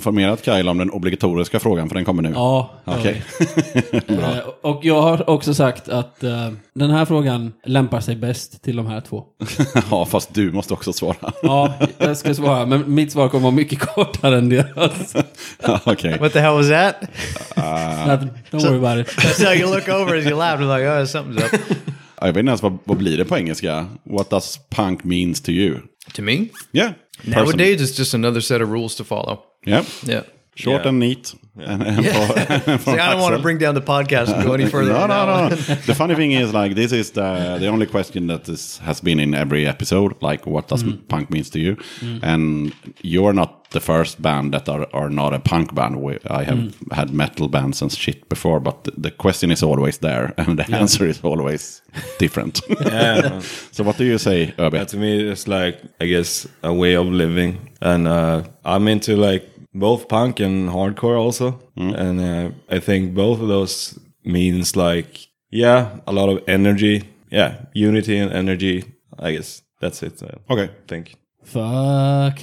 informerat Kyle om den obligatoriska frågan, för den kommer nu. Ja. Okej. Och jag har också sagt att den här frågan lämpar sig bäst till de här två. Ja, fast du måste också svara. Ja, jag ska svara. Men mitt svar kommer vara mycket kortare än deras. Okej. What the hell was that? Don't worry about it. That's how you look over as you laugh. And like, oh, something's up. Jag vet inte ens vad blir det på engelska. What does punk means to you? To me? Yeah. Nowadays, it's just another set of rules to follow. Yeah. Yeah. Short and neat. And See, I don't want to bring down the podcast and go any further. No. The funny thing is, like, this is the only question that has been in every episode. Like, what does punk means to you? And you're not the first band that are not a punk band. I have had metal bands and shit before, but the question is always there, and the answer is always different. Yeah. So what do you say, Öbe? To me, it's like, I guess, a way of living. And I'm into like both punk and hardcore also. And I think both of those means like, a lot of energy. Yeah, unity and energy. I guess that's it. Okay. I think. Fuck.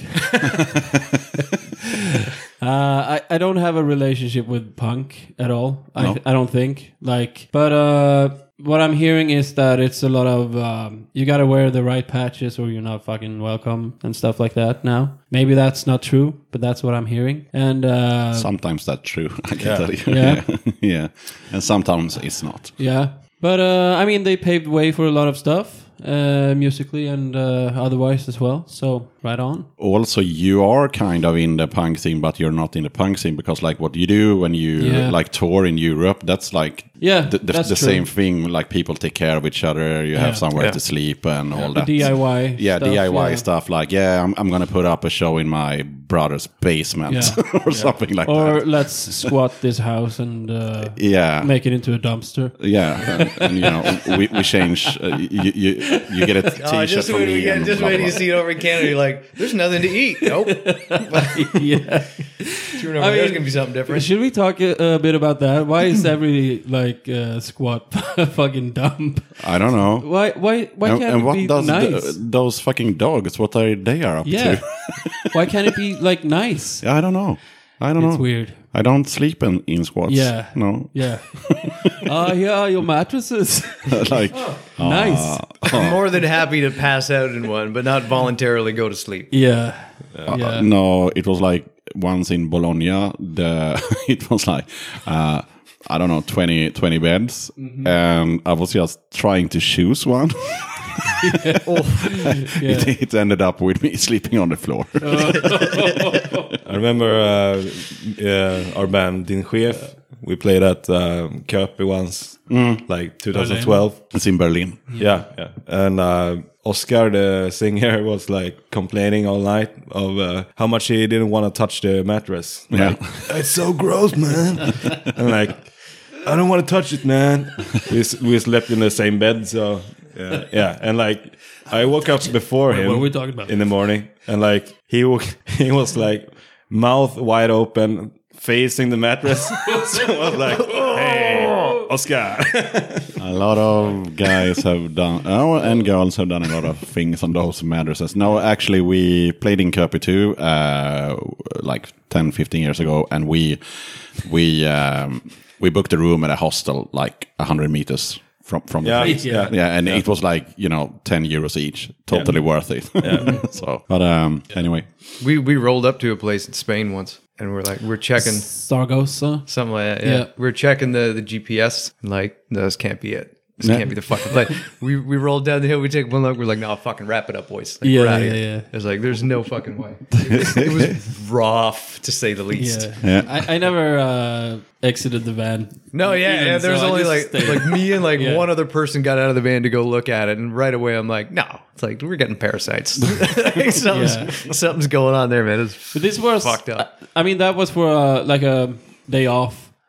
I don't have a relationship with punk at all. No. I don't think. But what I'm hearing is that it's a lot of you gotta wear the right patches or you're not fucking welcome and stuff like that now. Maybe that's not true, but that's what I'm hearing. And Sometimes that's true, I can tell you. Yeah. Yeah. And sometimes it's not. yeah. But I mean, they paved way for a lot of stuff. Musically and otherwise as well, so right on. Also, you are kind of in the punk scene, but you're not in the punk scene, because like what you do when you like tour in Europe, that's like the same thing. Like people take care of each other, you have somewhere to sleep and all that. DIY stuff, DIY stuff, like I'm gonna put up a show in my brother's basement or something like that. Or let's squat this house and make it into a dumpster. And you know, we change. You get a T-shirt just from when me. just when you see it over in Canada, you're like, "There's nothing to eat." Nope. Yeah. Sure enough, there's gonna be something different. Should we talk a bit about that? Why is every squat fucking dump? I don't know. Why can't and it what be does nice? those fucking dogs? What are they up to? Why can't it be like nice? I don't know. It's weird. I don't sleep in squats. Yeah. No. Yeah. Your mattresses. Like nice. I'm more than happy to pass out in one, but not voluntarily go to sleep. Yeah. No, it was like once in Bologna. It was like I don't know, 20 beds, and I was just trying to choose one. It ended up with me sleeping on the floor. I remember our band Din Chef. We played at Köpi once, like 2012. It's in Berlin. Yeah. And Oscar, the singer, was like complaining all night of how much he didn't want to touch the mattress. Like, it's so gross, man. And like, I don't want to touch it, man. We slept in the same bed, so yeah. And like, I woke up before him. What are we talking about? In the morning, and like he was like mouth wide open, facing the mattress. So I was like, "Hey, Oscar." A lot of guys have done, and girls have done a lot of things on those mattresses. No, actually, we played in Köpi too, like 10, 15 years ago, and we booked a room at a hostel like 100 meters from the place. And it was like, 10 euros each, totally worth it. So, but anyway, we rolled up to a place in Spain once, and we're checking Saragossa, something like that. Yeah, we're checking the GPS, and like, no, this can't be it. This can't be the fucking place. We rolled down the hill. We take one look. We're like, no, fucking wrap it up, boys. Like, we're out of here. It's like, there's no fucking way. It was rough, to say the least. I never exited the van. No, there was only like me and like one other person got out of the van to go look at it, and right away I'm like, no, it's like we're getting parasites. Like, something's going on there, man. But this was fucked up. I mean, that was for like a day off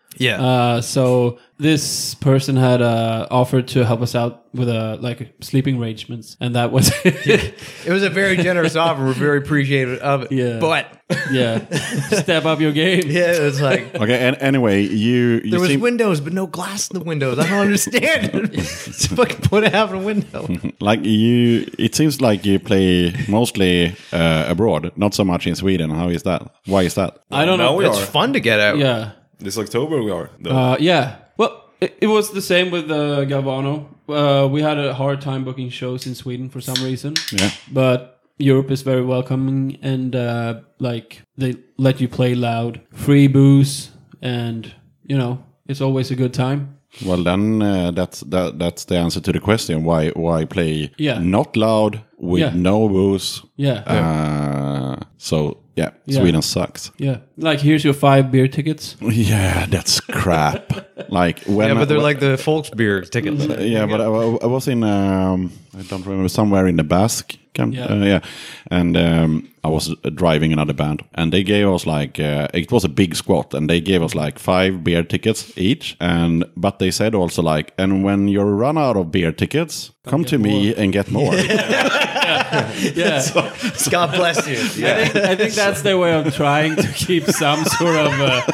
Yeah. So this person had offered to help us out with sleeping arrangements, and that was It was a very generous offer. We're very appreciative of it. Yeah. But step up your game. yeah, it's like Okay, and anyway, you there was seem windows, but no glass in the windows. I don't understand. Just fucking put half a window. like you. It seems like you play mostly abroad, not so much in Sweden. How is that? Why is that? I don't Now know. we It's are. fun to get out. Yeah. This October we are. Though. Yeah. Well, it was the same with Galvano. We had a hard time booking shows in Sweden for some reason. Yeah. But Europe is very welcoming, and they let you play loud, free booze, and it's always a good time. Well, then that's the answer to the question. Why play not loud with no booze? Yeah. So Sweden sucks. Yeah. Like, here's your 5 beer tickets. Yeah, that's crap. Like when Yeah, but they're like the Volksbeer tickets. yeah, but I was in I don't remember, somewhere in the Basque. And I was driving another band, and they gave us it was a big squat, and they gave us 5 beer tickets each, but they said also and when you run out of beer tickets, come to me and get more. Yeah. God bless you. I think that's their way of trying to keep some sort of,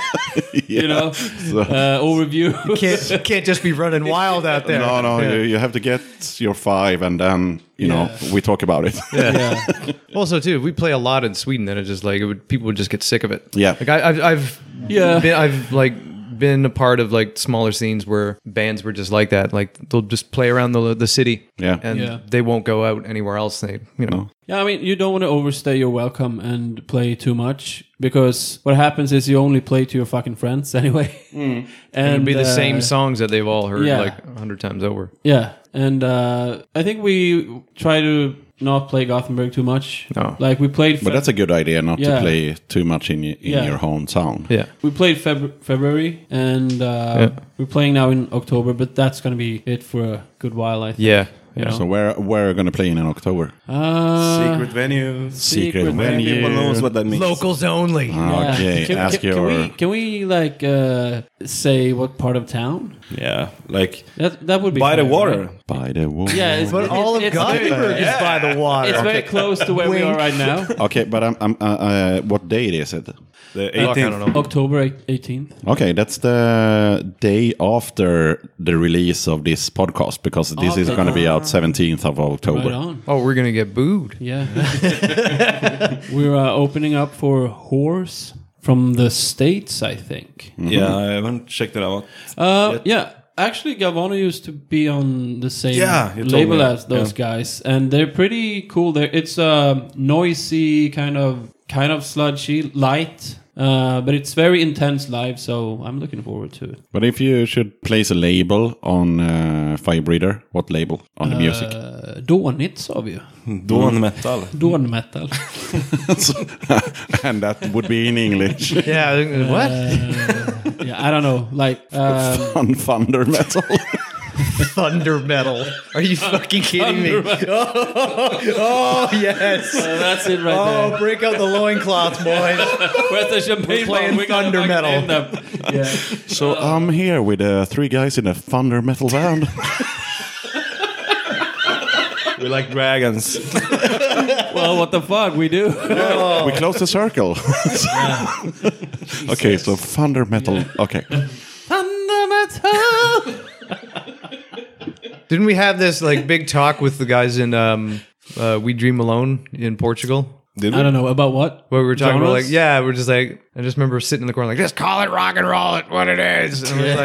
overview. Can't just be running wild out there. No, you have to get your 5, and then we talk about it. Yeah. Also, too, if we play a lot in Sweden, then it's just people would just get sick of it. Yeah. Like I've Yeah. been a part of smaller scenes where bands were just like that. Like they'll just play around the city, and they won't go out anywhere else. They Yeah, I mean, you don't want to overstay your welcome and play too much, because what happens is you only play to your fucking friends anyway. and it'd be the same songs that they've all heard 100 times over. Yeah, and I think we try to not play Gothenburg too much. No. Like we played... But that's a good idea, not to Yeah. play too much in Yeah. your hometown. Yeah. We played February, and we're playing now in October, but that's going to be it for a good while, I think. Yeah. So where are you going to play in October? Secret venue. Secret venue. People knows what that means. Locals only. Okay, Can we say what part of town? Yeah, That would be by the fun, water. right? By the water. Yeah, But all of Gothenburg is by the water. It's very close to where we are right now. Okay, but what date is it? The I don't 18th. know. October 18th. Okay, that's the day after the release of this podcast, because this is going to be out 17th of October. Right on. Oh, we're gonna get booed. Yeah. We're opening up for Horse from the States, I think. Yeah, I haven't checked it out. Yeah. Actually, Galvano used to be on the same Yeah, you told label me. as those guys, and they're pretty cool. It's noisy, kind of sludgy, light, but it's very intense live. So I'm looking forward to it. But if you should place a label on Firebreather, what label on the music? Dånigt sa vi ju. Dawn metal. Dawn metal. And that would be in English. Yeah. What? Yeah, I don't know. Like Thunder metal. Thunder metal. Are you fucking kidding me? Oh, yes. that's it right there. Oh, break out the loincloths, boys. Where's the champagne? We're playing We're gonna thunder fucking metal. name them. Yeah. So I'm here with 3 guys in a thunder metal band. We like dragons. Well, what the fuck we do? We close the circle. Okay, so thunder metal. Okay. Thunder metal. Didn't we have this big talk with the guys in We Dream Alone in Portugal? Did I don't know about what. Where we were talking Genres? about we're just I just remember sitting in the corner just call it rock and roll, it what it is. And I was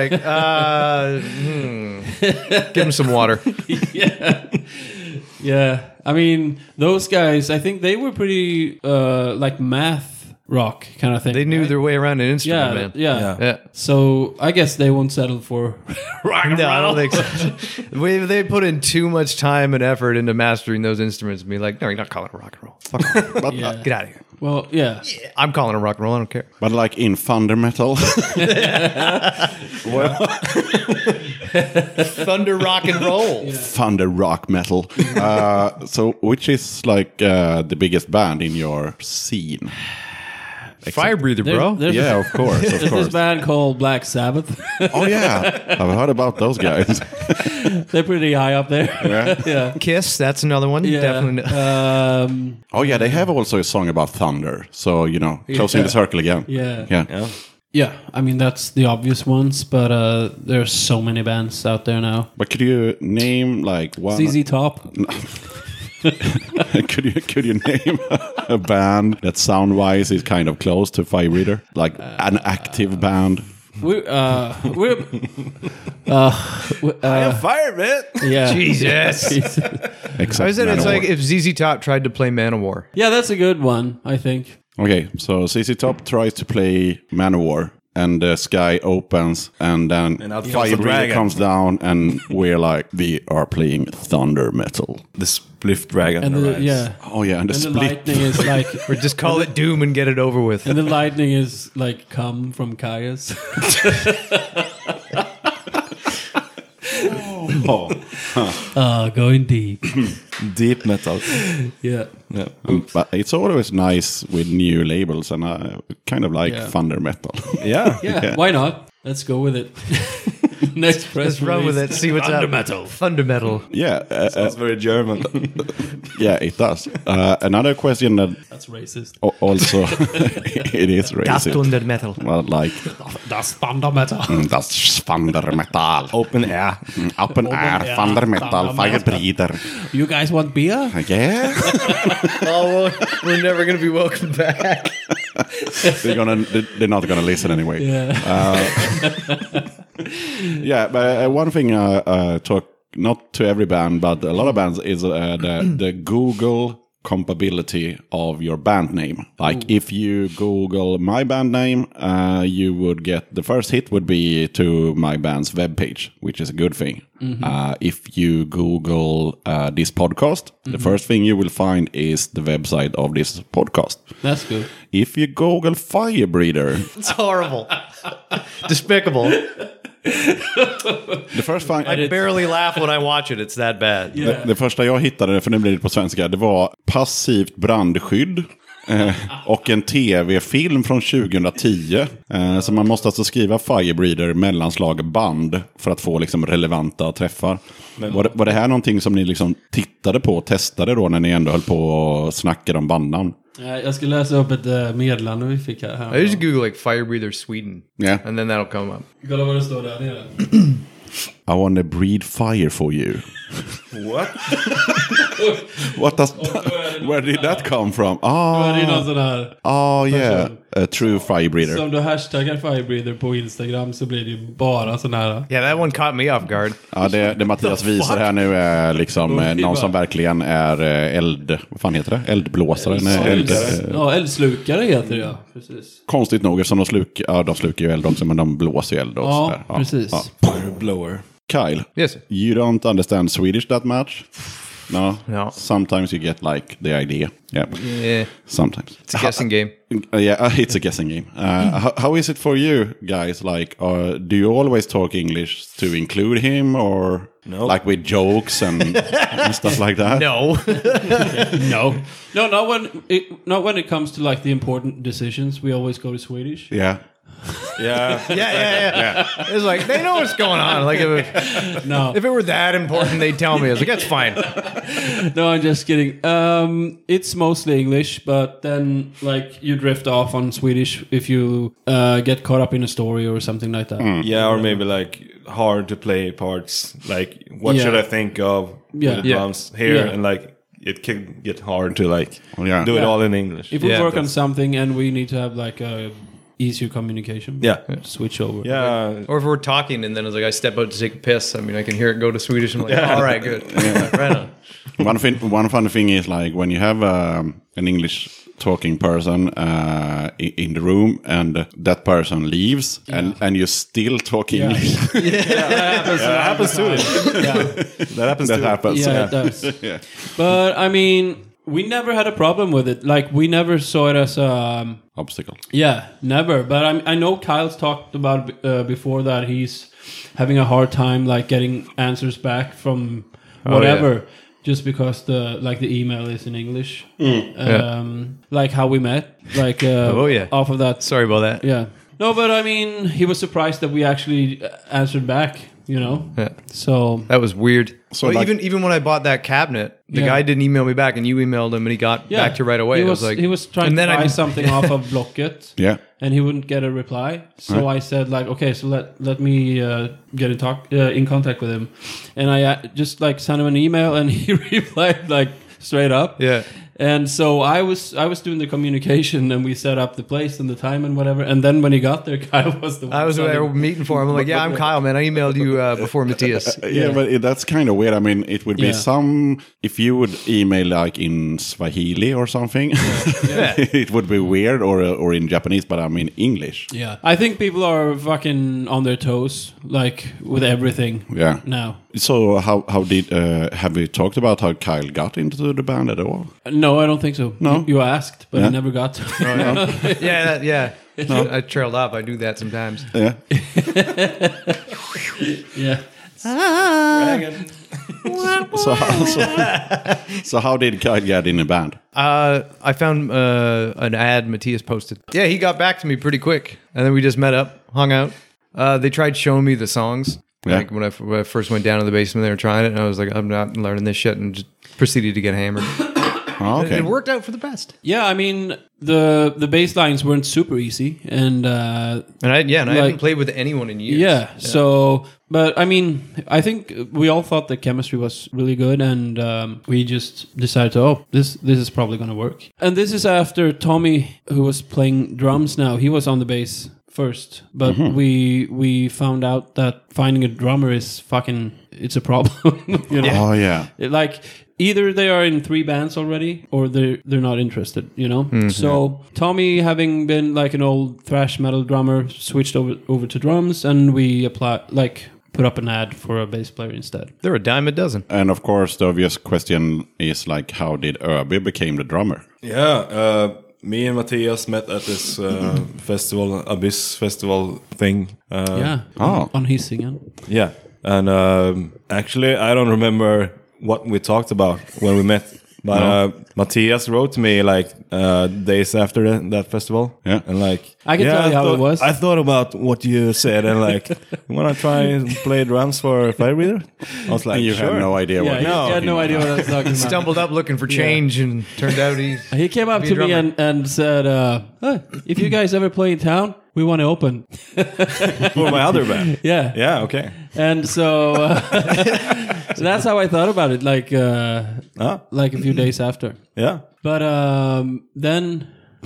give them some water. Yeah. Yeah. I mean, those guys, I think they were pretty math rock kind of thing. They knew right? their way around an instrument, man. Yeah. So I guess they won't settle for rock and No, I roll. don't think so. They put in too much time and effort into mastering those instruments and be like, no, you're not calling it rock and roll. Fuck off. Yeah. Get out of here. Well, yeah. I'm calling it rock and roll. I don't care. But like in thunder metal. Thunder rock and roll. Thunder rock metal. So which is the biggest band in your scene? Fire breather, bro. Yeah, of course, of There's this course. band called Black Sabbath. Oh yeah, I've heard about those guys. They're pretty high up there. Yeah. Yeah. Kiss, that's another one. Yeah. Definitely. Oh yeah, they have also a song about thunder. So closing the circle again. Yeah. Yeah. Yeah. I mean, that's the obvious ones, but there are so many bands out there now. But could you name like one? ZZ Top. could you name a band that sound wise is kind of close to Fire Breather, like an active band? We're Fire, man! yeah. Jesus. Except I said it's Manowar. like if ZZ Top tried to play Manowar. Yeah, that's a good one, I think. Okay, so CC Top tries to play Manowar, and the sky opens, and then And out comes Fire the Breather dragon. comes down, and we're like, we are playing thunder metal. The Spliff Dragon. And arrives. Oh yeah, and the and the split. lightning is like, Or just call it Doom and get it over with. and the lightning is like come from Caius. Going deep. Deep metal. Yeah. Yeah. But it's always nice with new labels, and I kind of like Yeah. thunder metal. Yeah. Yeah. Why not? Let's go with it. Next press Let's run with release. it. See what's up. Fundamental. Yeah, Sounds very German. yeah, it does. Another question that That's racist. also it is racist. Fundamental. Well, like That's thunder metal. that's thunder metal. Open air. Open air, thunder metal, Fire Breather. You guys want beer? Yeah, Oh, we're never going to be welcome back. they're not gonna listen anyway. Yeah. Yeah, but one thing talk not to every band, but a lot of bands is the Google compatibility of your band name. Like if you Google my band name, you would get the first hit would be to my band's webpage, which is a good thing. If you Google this podcast, the first thing you will find is the website of this podcast. That's good. If you Google Fire Breather, It's horrible. Despicable. the first thing I barely laugh when I watch it. It's that bad. Det första jag hittade, för nu blir det på svenska, det var passivt brandskydd och en tv-film från 2010. Så man måste alltså skriva Fire Breather mellanslag band för att få liksom relevanta träffar. Var det här någonting som ni liksom tittade på och testade då när ni ändå höll på och snackade om bandnamn? Jag ska läsa upp ett meddelande vi fick här. I just Google like Fire Breather Sweden. Yeah. And then that'll come up. Kolla vad det står där nere. I want to breathe fire for you. What? What does where did that come from? Då är det någon sån här. Yeah, a true Fire Breather. Som du hashtaggar Firebreather på Instagram så blir det ju bara sån här. Yeah, that one caught me off guard. Ja, det Mattias visar här nu är liksom någon som verkligen är vad fan heter det? Eldblåsare? Nej, Ja, eldslukare heter det, ja. Precis. konstigt nog, eftersom de slukar ju eld också, men de blåser ju eld också. Ja, där. precis. Fire blower. Kyle, Yes. you don't understand Swedish that much? No? No. Sometimes you get like the idea. Yeah. Yeah. Sometimes. It's a guessing game. Yeah, it's a guessing game. How is it for you guys? Like, do you always talk English to include him, or No. like with jokes and stuff like that? No. No, not when it comes to like the important decisions. We always go to Swedish. Yeah. Yeah. Yeah. It's like, they know what's going on. Like, No, if it were that important, they'd tell me. I was like, that's fine. no, I'm just kidding. It's mostly English, but then like you drift off on Swedish if you get caught up in a story or something like that. Yeah, or maybe like hard to play parts. Like, what Yeah. should I think of Yeah. with the Yeah. drums here? Yeah. And like, it can get hard to like Yeah. do it Yeah. all in English. If we Yeah, work on that's- something and we need to have like a easier communication, Yeah. switch over. Yeah. Or if we're talking and then it's like I step out to take a piss, I mean, I can hear it go to Swedish. I'm like, all right, good. Right on. One funny thing is like when you have an English talking person in the room and that person leaves and you still talk Yeah. English. That happens to it. That happens That to happens. Yeah, it does. Yeah. But I mean, we never had a problem with it. Like we never saw it as Obstacle. yeah, never. But I know Kyle's talked about before that he's having a hard time like getting answers back from whatever. just because the email is in English. Like how we met, like off of that. Sorry about that. Yeah. No, but I mean, he was surprised that we actually answered back. Yeah. So that was weird. So Well, like- even when I bought that cabinet, the guy didn't email me back, and you emailed him, and he got back to you right away. He I was, like, he was trying and to then buy I something off of Blocket. Yeah. And he wouldn't get a reply. So I said, like, okay, so let me get in contact with him. And I just like sent him an email, and he replied like straight up. Yeah. And so I was doing the communication, and we set up the place and the time and whatever. And then when he got there, Kyle was the one. I was sending- there meeting for him. I'm like, yeah, I'm Kyle, man. I emailed you before Matthias. Yeah, but that's kind of weird. I mean, it would be Yeah. some... If you would email like in Swahili or something, it would be weird, or in Japanese, but I mean English. Yeah. I think people are fucking on their toes, like with everything Yeah. now. So how did... have we talked about how Kyle got into the band at all? No, I don't think so. No? You asked, but Yeah. I never got to. Yeah. I trailed off. I do that sometimes. Yeah. Yeah. So how did Kyle get in the band? I found an ad Matthias posted. Yeah, he got back to me pretty quick, and then we just met up, hung out. They tried showing me the songs. Yeah. Like when I first went down to the basement, they were trying it, and I was like, I'm not learning this shit, and just proceeded to get hammered. Oh, okay. It worked out for the best. Yeah, I mean the bass lines weren't super easy, and And I haven't played with anyone in years. yeah. So, but I mean, I think we all thought the chemistry was really good, and we just decided, this is probably going to work. And this is after Tommy, who was playing drums now, he was on the bass first, but we found out that finding a drummer is it's a problem. You know? Oh, yeah. Like either they are in 3 bands already, or they're not interested, you know. So Tommy, having been like an old thrash metal drummer, switched over to drums, and we put up an ad for a bass player instead. They're a dime a dozen. And of course, the obvious question is like, how did Öby became the drummer? Yeah, me and Matthias met at this festival, Abyss festival thing. On Hisingen. Yeah, and actually, I don't remember what we talked about when we met. But Matthias wrote to me like days after that festival. Yeah. And like, I can tell you how it was. I thought about what you said and like, you want to try and play drums for Fire Breather? I was like, And you sure. had no idea what Yeah, he had no idea what I was talking about. Stumbled up looking for change, and turned out He came up to me and said, if you guys ever play in town, we want to open. For my other band. Yeah. Yeah, okay. And so, so that's how I thought about it, like a few days after. Yeah. But then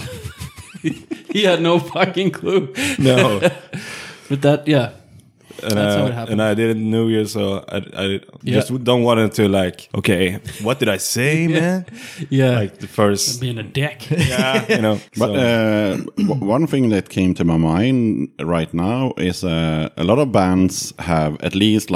he had no fucking clue. No. But that, yeah. And, That's how it happened. and I didn't know you, so I just don't want it to like, okay, what did I say, man? Yeah. Like the first, being a dick. yeah, you know. But so- one thing that came to my mind right now is a lot of bands have at least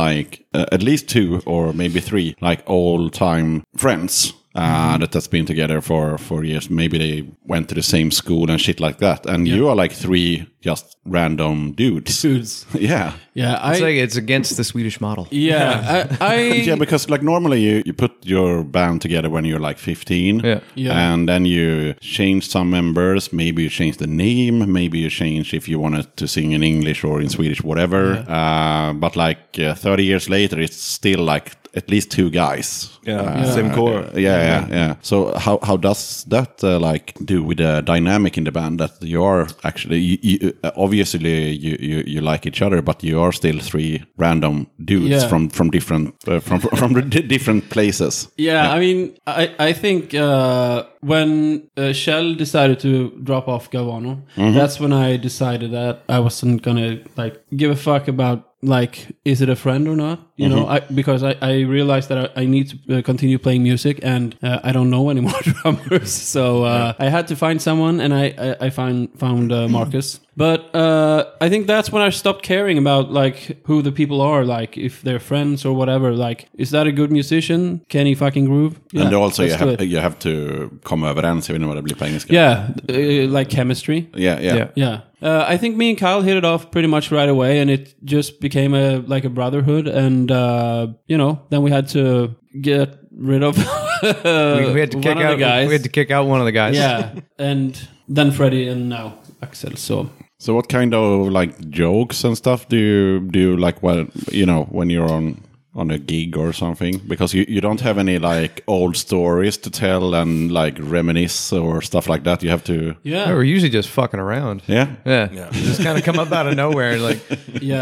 2 or maybe 3 like all-time friends that has been together for years. Maybe they went to the same school and shit like that. And you are like 3 just random dudes. Dudes. Yeah. Yeah. it's against the Swedish model. Yeah. Yeah, because like normally you put your band together when you're like 15. Yeah. Yeah. And then you change some members. Maybe you change the name. Maybe you change if you wanted to sing in English or in Swedish, whatever. But like 30 years later, it's still like at least 2 guys. same core. Yeah. So how does that like do with the dynamic in the band that you are actually obviously you like each other, but you are still 3 random dudes from different from different places. Yeah, I mean, I think when Shell decided to drop off Galvano, that's when I decided that I wasn't gonna like give a fuck about like, is it a friend or not? You know, because I realized that I need to continue playing music, and I don't know any more drummers, so I had to find someone, and I found Marcus. But I think that's when I stopped caring about like who the people are, like if they're friends or whatever. Like, is that a good musician? Can he fucking groove? Yeah, And also let's do it. you have to komma överens även vad det blir på engelska. Yeah, like chemistry. Yeah. Yeah. I think me and Kyle hit it off pretty much right away, and it just became a brotherhood. And you know, then we had to get rid of we had to kick one of out. the guys. We had to kick out one of the guys. Yeah, and then Freddie and now Axel. So what kind of like jokes and stuff do you like when you're on a gig or something? Because you don't have any like old stories to tell and like reminisce or stuff like that. You have to Yeah, We're usually just fucking around. Yeah. Just kind of come up out of nowhere and like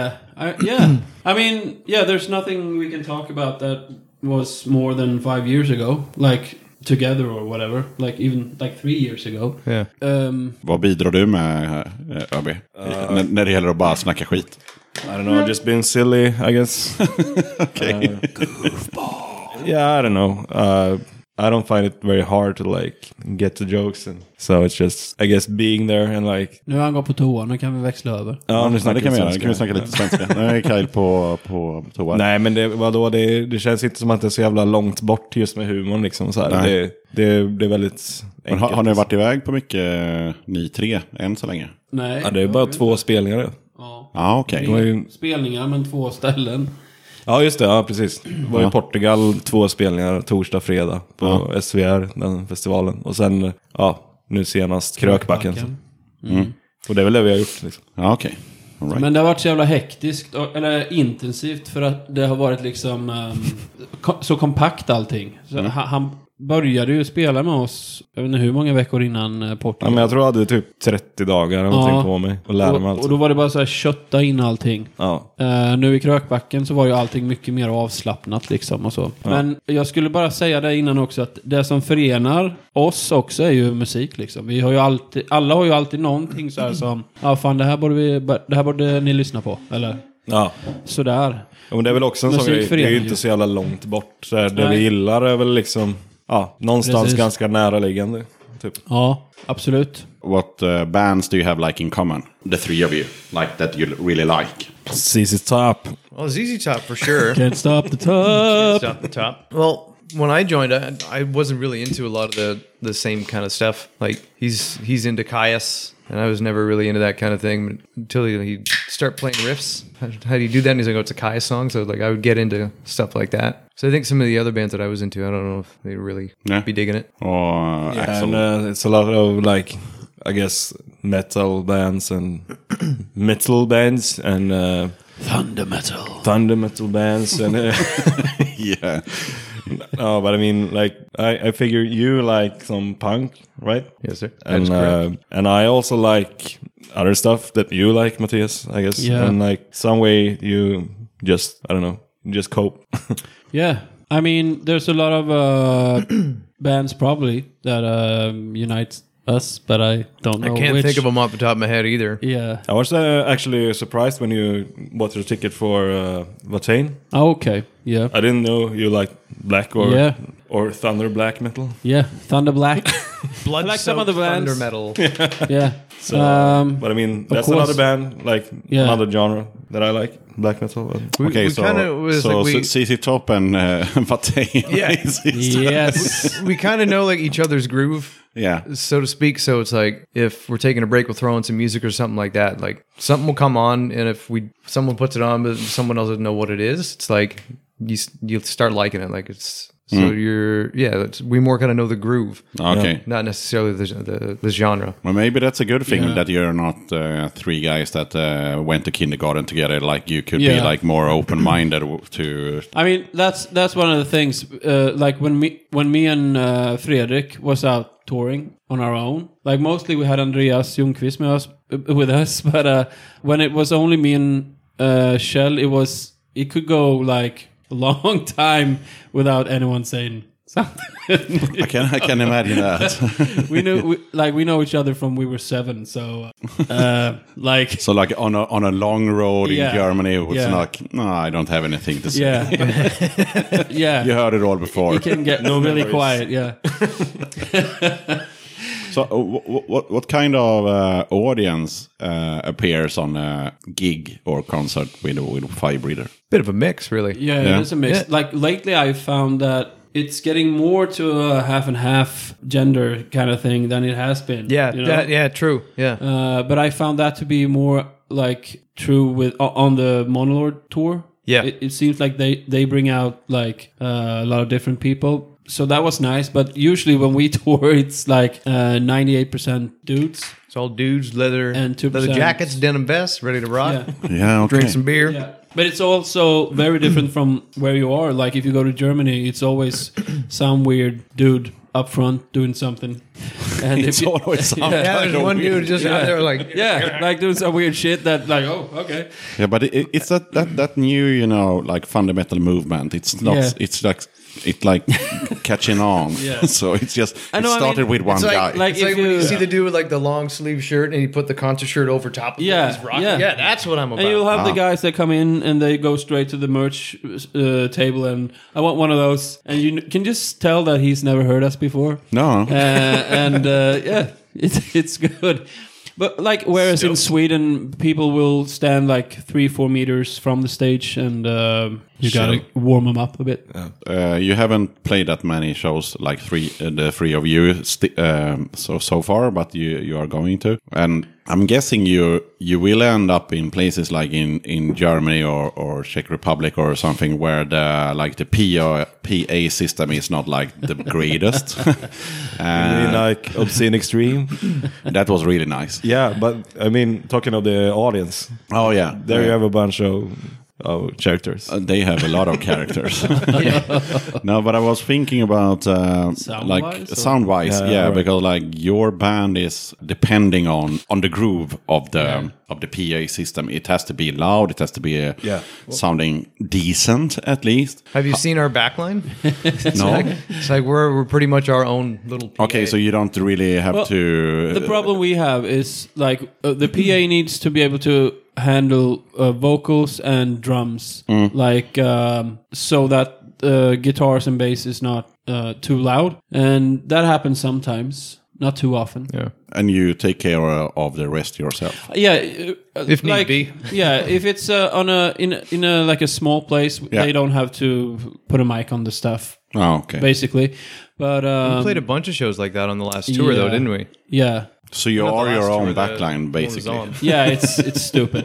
I mean, there's nothing we can talk about that was more than 5 years ago, like together or whatever, like even like 3 years ago. Vad bidrar du med, ÖB? När det gäller att bara snacka skit? I don't know, just being silly, I guess. Okay. Yeah, I don't know. I don't find it very hard to like get the jokes, and so it's just, I guess, being there and like. Nu har han gått på toa, nu kan vi växla över. Ja, det kan vi göra. Nu kan vi snacka lite svenska. Nu är Kyle på toa. Nej, men det känns inte som att det är så jävla långt bort just med humorn liksom så här. Det är väldigt men enkelt. har ni varit iväg på mycket ni tre än så länge? Nej. Ja, det är bara 2 spelningar. Ja, okej. Det var ju... Spelningar, men 2 ställen. Ja, just det. Ja, precis. Det var i Portugal 2 spelningar, torsdag, fredag på SVR, den festivalen. Och sen, nu senast Krökbacken. Och det är väl det vi har gjort liksom. Ja, okej. All right. Men det har varit så jävla hektiskt, eller intensivt, för att det har varit liksom så kompakt allting. Så han började ju spela med oss, jag vet inte hur många veckor innan Portugal. Ja, men jag tror jag hade typ 30 dagar eller någonting på mig och lära mig allt. Och då var det bara så här kötta in allting. Ja. Nu i Krökbacken så var ju allting mycket mer avslappnat liksom och så. Ja. Men jag skulle bara säga det innan också, att det som förenar oss också är ju musik liksom. Vi har ju alltid, alla har ju alltid någonting så här som, fan det här borde ni lyssna på, eller? Ja. Sådär. Ja, men det är väl också en sån grej, det är ju inte så jävla långt bort. Så här, det vi gillar är väl liksom, någonstans ganska näraliggande. Typ. Ja, absolut. What bands do you have like in common? The three of you, like that you really like. ZZ Top. Well, ZZ Top for sure. Can't stop the top. Can't stop the top. Well, when I joined, I wasn't really into a lot of the same kind of stuff. Like he's into Caius, and I was never really into that kind of thing until he'd start playing riffs. How do you do that? And he's like, it's a Caius song. So like I would get into stuff like that. So I think some of the other bands that I was into, I don't know if they'd really be digging it. Axel. And it's a lot of like, I guess, metal bands and metal bands and Thunder metal bands and Yeah. no, but I mean, like, I figure you like some punk, right? Yes, sir. And I also like other stuff that you like, Matthias, I guess. Yeah. And like some way you just, I don't know, just cope. Yeah. I mean, there's a lot of bands probably that unite us, but I don't know I can't which. think of them off the top of my head either. Yeah. I was actually surprised when you bought your ticket for Vatane. Oh, okay. Yeah. I didn't know you liked black or thunder black metal. Yeah. Thunder Black. Blood like some other bands. thunder metal. Yeah. So, but I mean, that's course. another band, like another genre that I like, black metal. Okay, we kind of was so like we, ZZ Top and Vatane. Yeah. Yes. we kind of know like each other's groove. Yeah. So to speak. So it's like if we're taking a break, we'll throw in some music or something like that. Like something will come on, and if someone puts it on, but someone else doesn't know what it is, it's like you start liking it. Like it's so we more kind of know the groove. Okay. Not necessarily the genre. Well, maybe that's a good thing that you're not 3 guys that went to kindergarten together. Like you could be like more open-minded to. I mean, that's one of the things. Like when me and Fredrik was out touring on our own. Like mostly we had Andreas Ljungqvist with us, but when it was only me and Kjell, it could go like a long time without anyone saying something. I can imagine that. we know each other from we were 7, so like so like on a long road in Germany, it was like no, I don't have anything to say. Yeah. You heard it all before. It can get really quiet. Yeah. So what kind of audience appears on a gig or concert with Fire Breather? Bit of a mix, really. Yeah, it's a mix. Yeah. Like lately, I found that it's getting more to a half and half gender kind of thing than it has been. Yeah, you know? true. Yeah. But I found that to be more like true on the Monolord tour. Yeah. It seems like they bring out like a lot of different people. So that was nice, but usually when we tour, it's like 98% dudes. It's all dudes, leather And 2% leather jackets, denim vests, ready to rock. Yeah. Yeah, okay. Drink some beer. Yeah. But it's also very different from where you are. Like if you go to Germany, it's always some weird dude up front doing something. And It's always some Yeah, kind there's of one weird- dude just out there like, yeah, like doing some weird shit that like, oh, okay. Yeah, but it's that new, like fundamental movement. It's not. Yeah. It's like catching on. Yeah. So it's just. I know, it I started mean, with one it's guy. like it's like if when you you- see the dude with like the long sleeve shirt and he put the concert shirt over top of Yeah, it. He's rocking. yeah. Yeah, that's what I'm about. And you'll have the guys that come in and they go straight to the merch table and I want one of those. And you can just tell that he's never heard us before. No. Yeah, it's good. But like, whereas in Sweden, people will stand like 3-4 meters from the stage, and you gotta warm them up a bit. You haven't played that many shows like the three of you so far, but you are going to, and I'm guessing you will end up in places like in Germany or Czech Republic or something where the PA system is not like the greatest. Really like Obscene Extreme. That was really nice. Yeah, but I mean, talking of the audience, Oh yeah, there you have a bunch of characters. They have a lot of characters. No, but I was thinking about Sound-wise, or- sound-wise, Yeah, yeah, right. because like your band is depending on the groove of the PA system. It has to be loud. It has to be sounding decent at least. Have you seen our backline? No. It's like we're pretty much our own little PA. Okay, so you don't really have Well, to. The problem we have is like the PA needs to be able to handle vocals and drums, like so that guitars and bass is not too loud, and that happens sometimes, not too often. Yeah. And you take care of the rest yourself. Yeah, If need like, be. Yeah, if it's in a like a small place, Yeah. they don't have to put a mic on the stuff, Oh, okay. basically. But We played a bunch of shows like that on the last tour, though, didn't we? Yeah. So you Not the are your last own tour, the backline, one was basically. on. Yeah, it's stupid.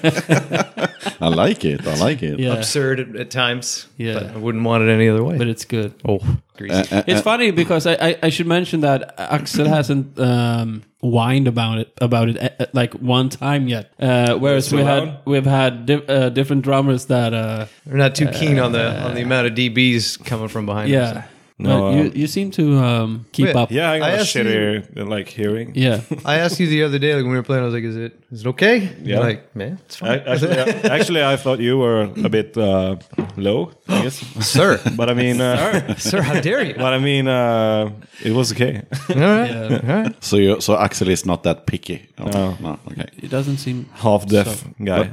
I like it. I like it. Yeah, Absurd at times. Yeah. But I wouldn't want it any other way. but it's good. oh, greasy. It's funny because I should mention that Axel hasn't whined about it like one time yet. Whereas So we've had different drummers that We're not too keen on the amount of DBs coming from behind us. yeah. No, But you seem to keep Yeah. up. Yeah, I got I a asked you- shittier like hearing. Yeah. I asked you the other day, like when we were playing, I was like, is it okay? Yeah. You're like, man, it's fine. Actually, I thought you were a bit low, I guess. Sir. But I mean, Sir, how dare you? but I mean, it was okay. All right. Yeah. All right. So Axel is not that picky. No. Okay. It doesn't seem Half deaf guy.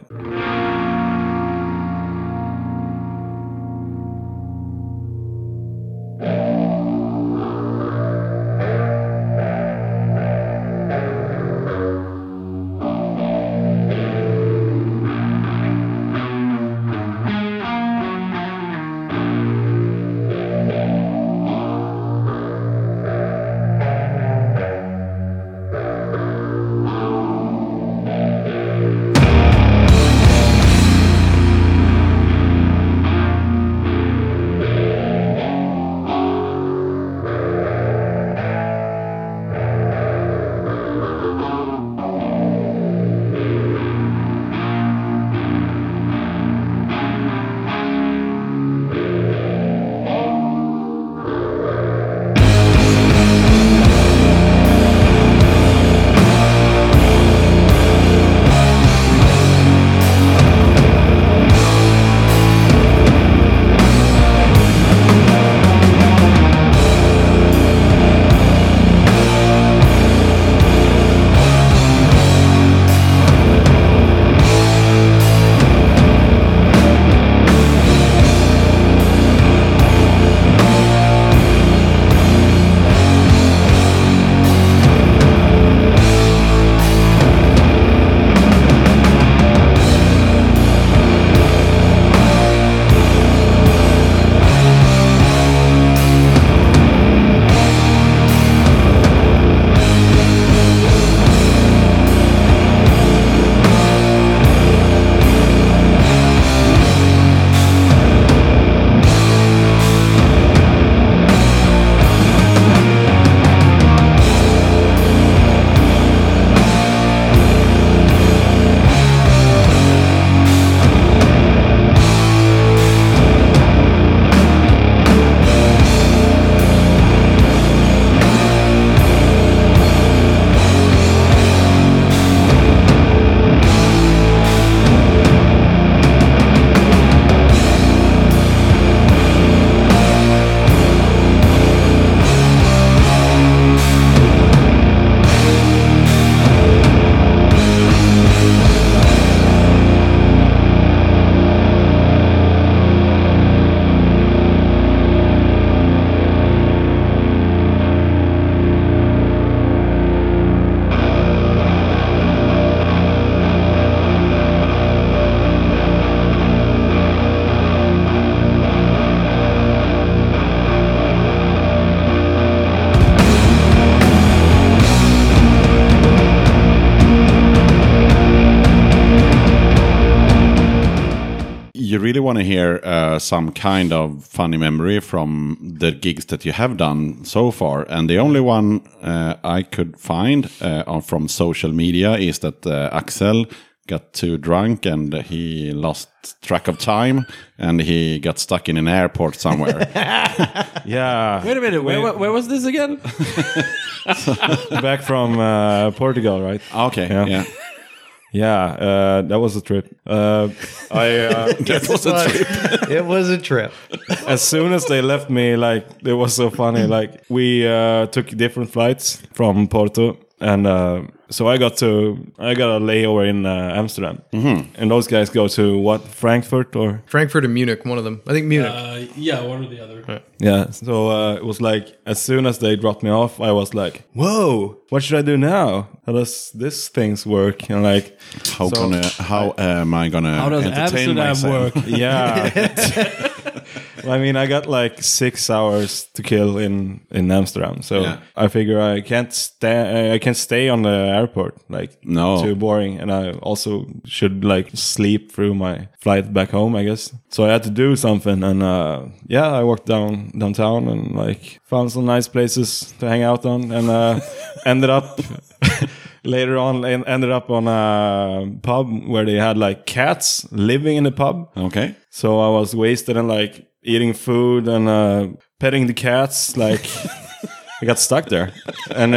really want to hear some kind of funny memory from the gigs that you have done so far. And the only one I could find from social media is that Axel got too drunk and he lost track of time and he got stuck in an airport somewhere. Yeah. Wait a minute, where was this again? Back from Portugal, right? Okay, yeah. Yeah, that was a trip. That was a trip. It was a trip. As soon as they left me, like, it was so funny. Like, we took different flights from Porto. And so I got a layover in Amsterdam. And those guys go to what? Frankfurt or? Frankfurt and Munich, one of them. I think Munich. Yeah, one or the other. Yeah, so it was like, as soon as they dropped me off, I was like, whoa, what should I do now? How does this things work? And like, How am I gonna How does entertain Amsterdam myself? work? yeah. Well, I mean, I got like 6 hours to kill in Amsterdam, so Yeah. I figure I can't stay on the airport, like, No. too boring, and I also should like sleep through my flight back home, I guess. So I had to do something, and I walked downtown and like found some nice places to hang out on, and ended up. Later on, ended up on a pub where they had like cats living in the pub. Okay. So I was wasted and like eating food and petting the cats. Like I got stuck there, and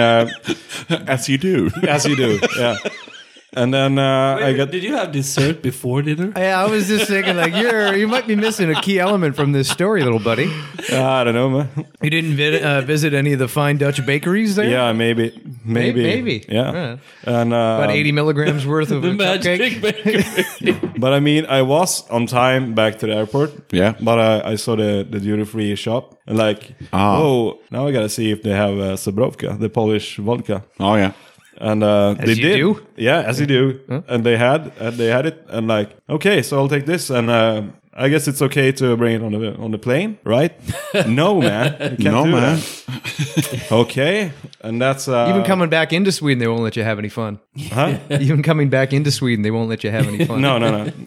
As you do. as you do, yeah. And then I got. Did you have dessert before dinner? Yeah, I was just thinking, like, you might be missing a key element from this story, little buddy. I don't know, man. You didn't visit any of the fine Dutch bakeries there? Yeah, maybe. Maybe. Yeah. And About 80 milligrams worth of The a magic cupcake. bakery. but I mean, I was on time back to the airport. Yeah. But I saw the duty-free shop and like, oh, now I gotta see if they have Zabrovka, the Polish vodka. Oh, yeah. And they you did. do? Yeah, as you do. And they had it, and like, okay, so I'll take this, and I guess it's okay to bring it on the plane, right? No, man, you can't No, do man. that. Okay, and that's Even coming back into Sweden, they won't let you have any fun. huh? Even coming back into Sweden, they won't let you have any fun. No,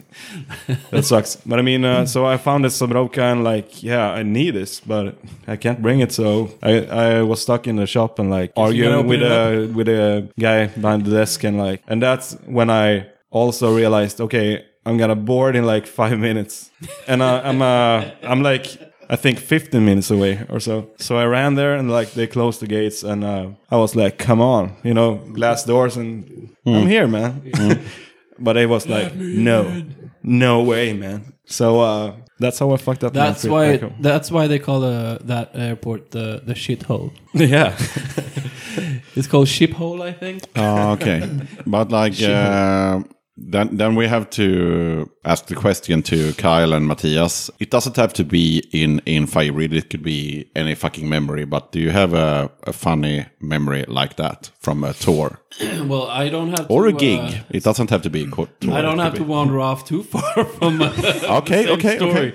that sucks. But I mean, so I found this Zabrovka, and like, yeah, I need this, but I can't bring it. So I was stuck in the shop and like arguing with a guy behind the desk, and that's when I also realized, okay, I'm gonna board in like 5 minutes, and I'm like, I think 15 minutes away or so. So I ran there, and like they closed the gates, and I was like, come on, glass doors, and I'm here, man. But it was like, no way, man. So that's how I fucked up. That's why they call that airport the shithole. Yeah. It's called Shiphole, I think. Oh, okay. But like, then we have to ask the question to Kyle and Matthias. It doesn't have to be in Firebreed. It could be any fucking memory. But do you have a funny memory like that from a tour? Well, I don't have Or to, a gig. It doesn't have to be a tour. I don't have to wander off too far from Okay. story.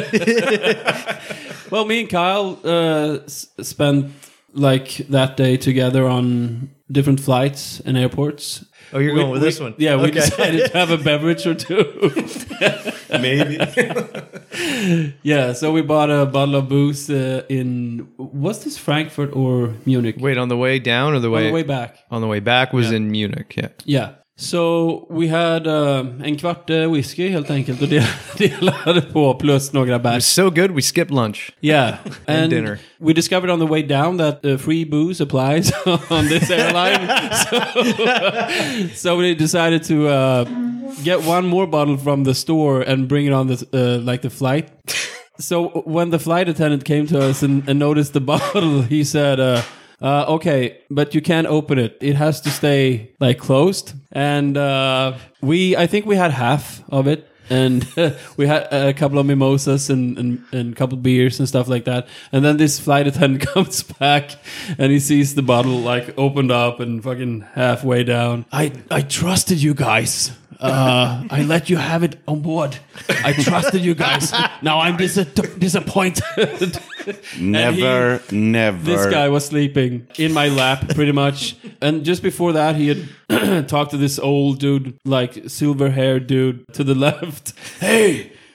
Well, me and Kyle spent like that day together on different flights and airports. Oh, you're going with this one? Yeah, we Okay. decided to have a beverage or two. Maybe. Yeah, so we bought a bottle of booze was this Frankfurt or Munich? Wait, on the way down or the way? On the way back. On the way back was in Munich, yeah. Yeah. So we had en kvart whisky helt enkelt och delade på plus några It was bärs. so good, we skipped lunch. Yeah. And dinner. We discovered on the way down that free booze applies on this airline. So we decided to get one more bottle from the store and bring it on the flight. So when the flight attendant came to us and noticed the bottle, he said, okay, but you can't open it. It has to stay like closed. And I think we had half of it. And we had a couple of mimosas and a couple beers and stuff like that. And then this flight attendant comes back and he sees the bottle like opened up and fucking halfway down. I trusted you guys. I let you have it on board. I trusted you guys. Now I'm disappointed. Never. This guy was sleeping in my lap pretty much. And just before that, he had talked to this old dude, like silver-haired dude to the left. Hey,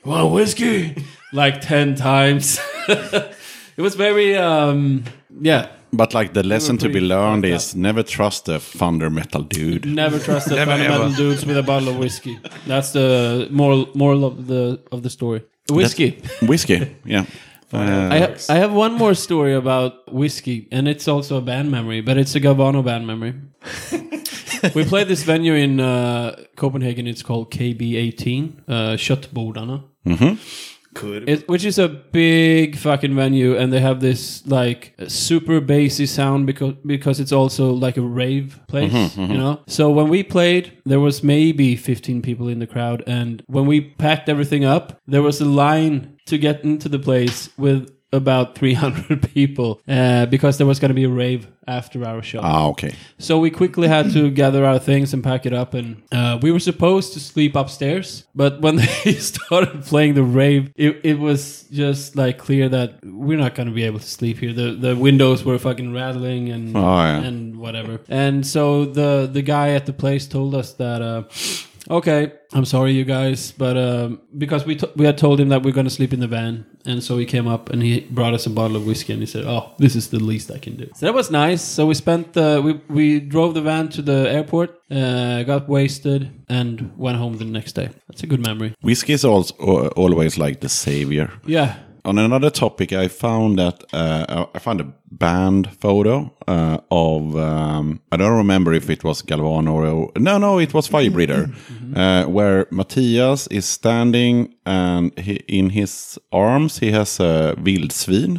"Want whiskey?" like 10 times. It was very, yeah. But like the lesson to be learned is never trust a thunder metal dude. Never trust the Never, fundamental ever. dudes with a bottle of whiskey. That's the moral of the story. Whiskey. Whiskey, yeah. I have one more story about whiskey, and it's also a band memory, but it's a Galvano band memory. We played this venue in Copenhagen. It's called KB18, Köttbordarna. Which is a big fucking venue, and they have this like super bassy sound because it's also like a rave place, you know. So when we played, there was maybe 15 people in the crowd, and when we packed everything up, there was a line to get into the place with about 300 people because there was going to be a rave after our show. Okay. So we quickly had to gather our things and pack it up, and we were supposed to sleep upstairs, but when they started playing the rave, it was just like clear that we're not going to be able to sleep here. The windows were fucking rattling and and whatever. And so the guy at the place told us that okay, I'm sorry, you guys, but because we had told him that we're going to sleep in the van, and so he came up and he brought us a bottle of whiskey, and he said, "Oh, this is the least I can do." So that was nice. So we spent we drove the van to the airport, got wasted, and went home the next day. That's a good memory. Whiskey is also always like the savior. Yeah. On another topic, I found that I found a band photo of I don't remember if it was Galvano or no, it was Firebreather, where Matthias is standing and in his arms he has a vildsvin.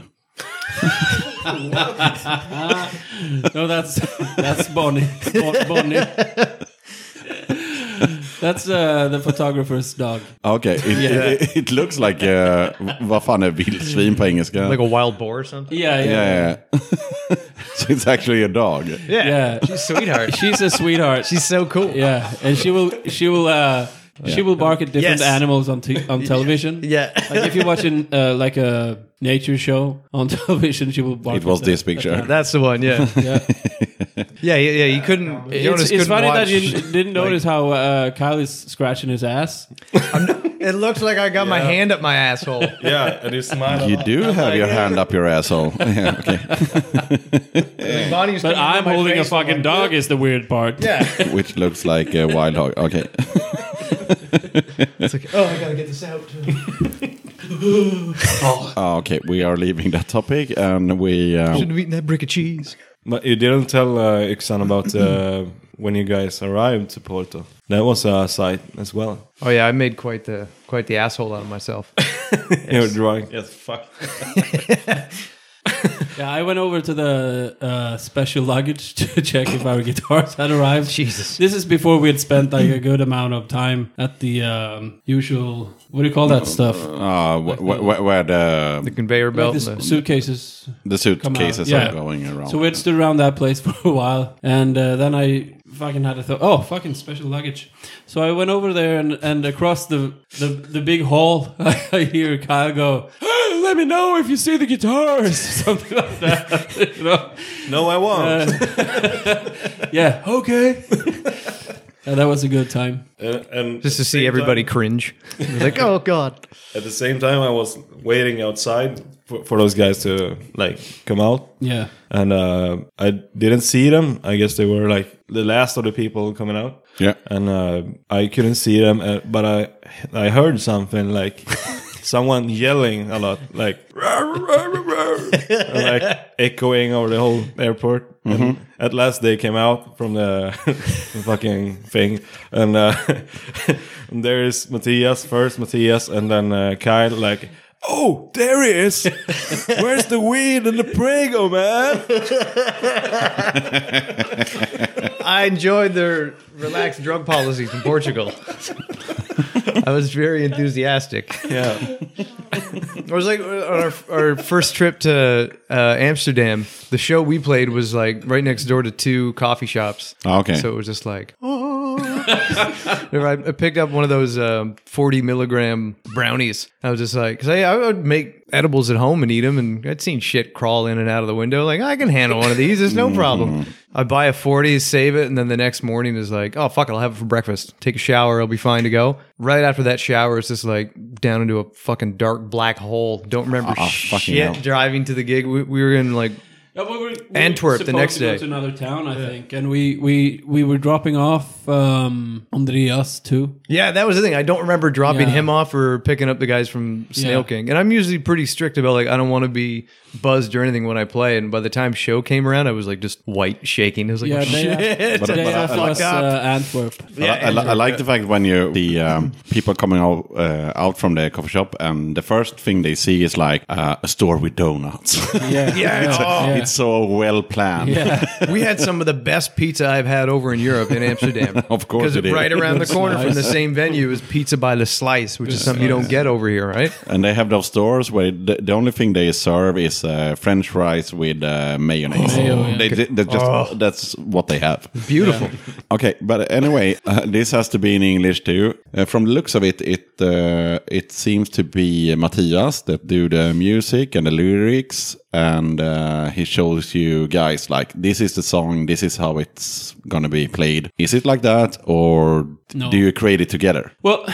No, that's Bonnie. Bonnie. That's the photographer's dog. Okay, it looks like vad fan är vildsvin på engelska? Like a wild boar or something? Yeah. So it's actually a dog. Yeah. She's a sweetheart. She's a sweetheart. She's so cool. Yeah, and she will bark at different Yes. animals on television. Yeah. Like if you're watching like a nature show on television, she will bark. It was at this that. picture. That's the one, yeah. Yeah. Yeah. You couldn't. Jonas It's couldn't funny watch, that you didn't notice how Kyle is scratching his ass. It looks like I got my hand up my asshole. Yeah, and you smile. You do have your hand up your asshole. Yeah, okay. Bonnie's But coming I'm to my holding a face fucking like, dog is the weird part. Yeah. Which looks like a wild dog. Okay. It's like, oh, I gotta get this out. Okay, we are leaving that topic and we... Shouldn't have eaten that brick of cheese. But you didn't tell Yxan about when you guys arrived to Porto. That was a sight as well. Oh yeah, I made quite the asshole out of myself. You were drawing. Yes, fuck. Yeah, I went over to the special luggage to check if our guitars had arrived. Jesus. This is before we had spent like a good amount of time at the usual, what do you call that stuff? where The conveyor Like belt. the and the- suitcases. the suitcases Yeah. are going around. So we had stood around that place for a while, and then I fucking had to thought, oh, fucking special luggage. So I went over there, and across the big hall, I hear Kyle go, "Hey, let me know if you see the guitars," something like that. You know? No, I won't. Yeah, okay. And that was a good time. And Just to see everybody cringe. Like, oh god. At the same time, I was waiting outside for those guys to like come out. Yeah. And I didn't see them. I guess they were like the last of the people coming out. Yeah. And I couldn't see them, but I heard something like someone yelling a lot, like and, like echoing over the whole airport. And at last they came out from the fucking thing, and and there is Matthias, and then Kyle like. Oh, there he is! Where's the weed and the Prego, man? I enjoyed their relaxed drug policies in Portugal. I was very enthusiastic. Yeah. It was like on our first trip to Amsterdam. The show we played was like right next door to two coffee shops. Okay. So it was just like, oh. I picked up one of those 40 milligram brownies. I was just like, because I would make edibles at home and eat them, and I'd seen shit crawl in and out of the window. Like, I can handle one of these. There's no problem. I buy a 40, save it, and then the next morning is like, oh, fuck it, I'll have it for breakfast. Take a shower, I'll be fine to go. Right after that shower, it's just like down into a fucking dark black hole. Don't remember fucking hell. shit driving to the gig. We were in like Antwerp the next day. To another town, I think, and we were dropping off Andreas too. Yeah, that was the thing. I don't remember dropping Yeah. him off or picking up the guys from Snail Yeah. King. And I'm usually pretty strict about like I don't want to be buzzed or anything when I play. And by the time show came around, I was like just white shaking. I was like, Yeah, shit. But Day I after like was Antwerp. I like the fact when you the people coming out from the coffee shop, and the first thing they see is like a store with donuts. Yeah, It's so well planned. yeah. We had some of the best pizza I've had over in Europe in Amsterdam. Of course Because it is. right around the Looks corner from nice. the same venue is Pizza by the Slice, which is something you don't get over here, right? And they have those stores where the only thing they serve is French fries with mayonnaise. Mayo, yeah. They just that's what they have. Beautiful. Okay, but anyway, this has to be in English too. From the looks of it, it seems to be Matthias that do the music and the lyrics, and he shows you guys like, this is the song, this is how it's gonna be played. Is it like that, or No. do you create it together? Well,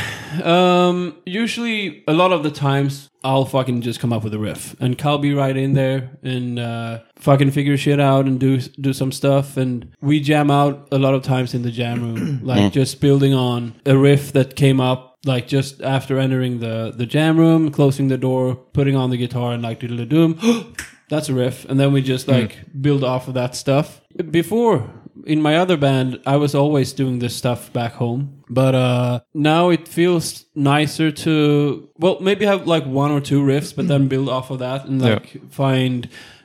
usually a lot of the times I'll fucking just come up with a riff, and Cal be right in there and fucking figure shit out and do some stuff, and we jam out a lot of times in the jam room, like just building on a riff that came up like just after entering the jam room, closing the door, putting on the guitar, and like diddle doom. That's a riff, and then we just like build off of that stuff. Before, in my other band, I was always doing this stuff back home, but now it feels nicer to, well, maybe have like one or two riffs, but then build off of that and like find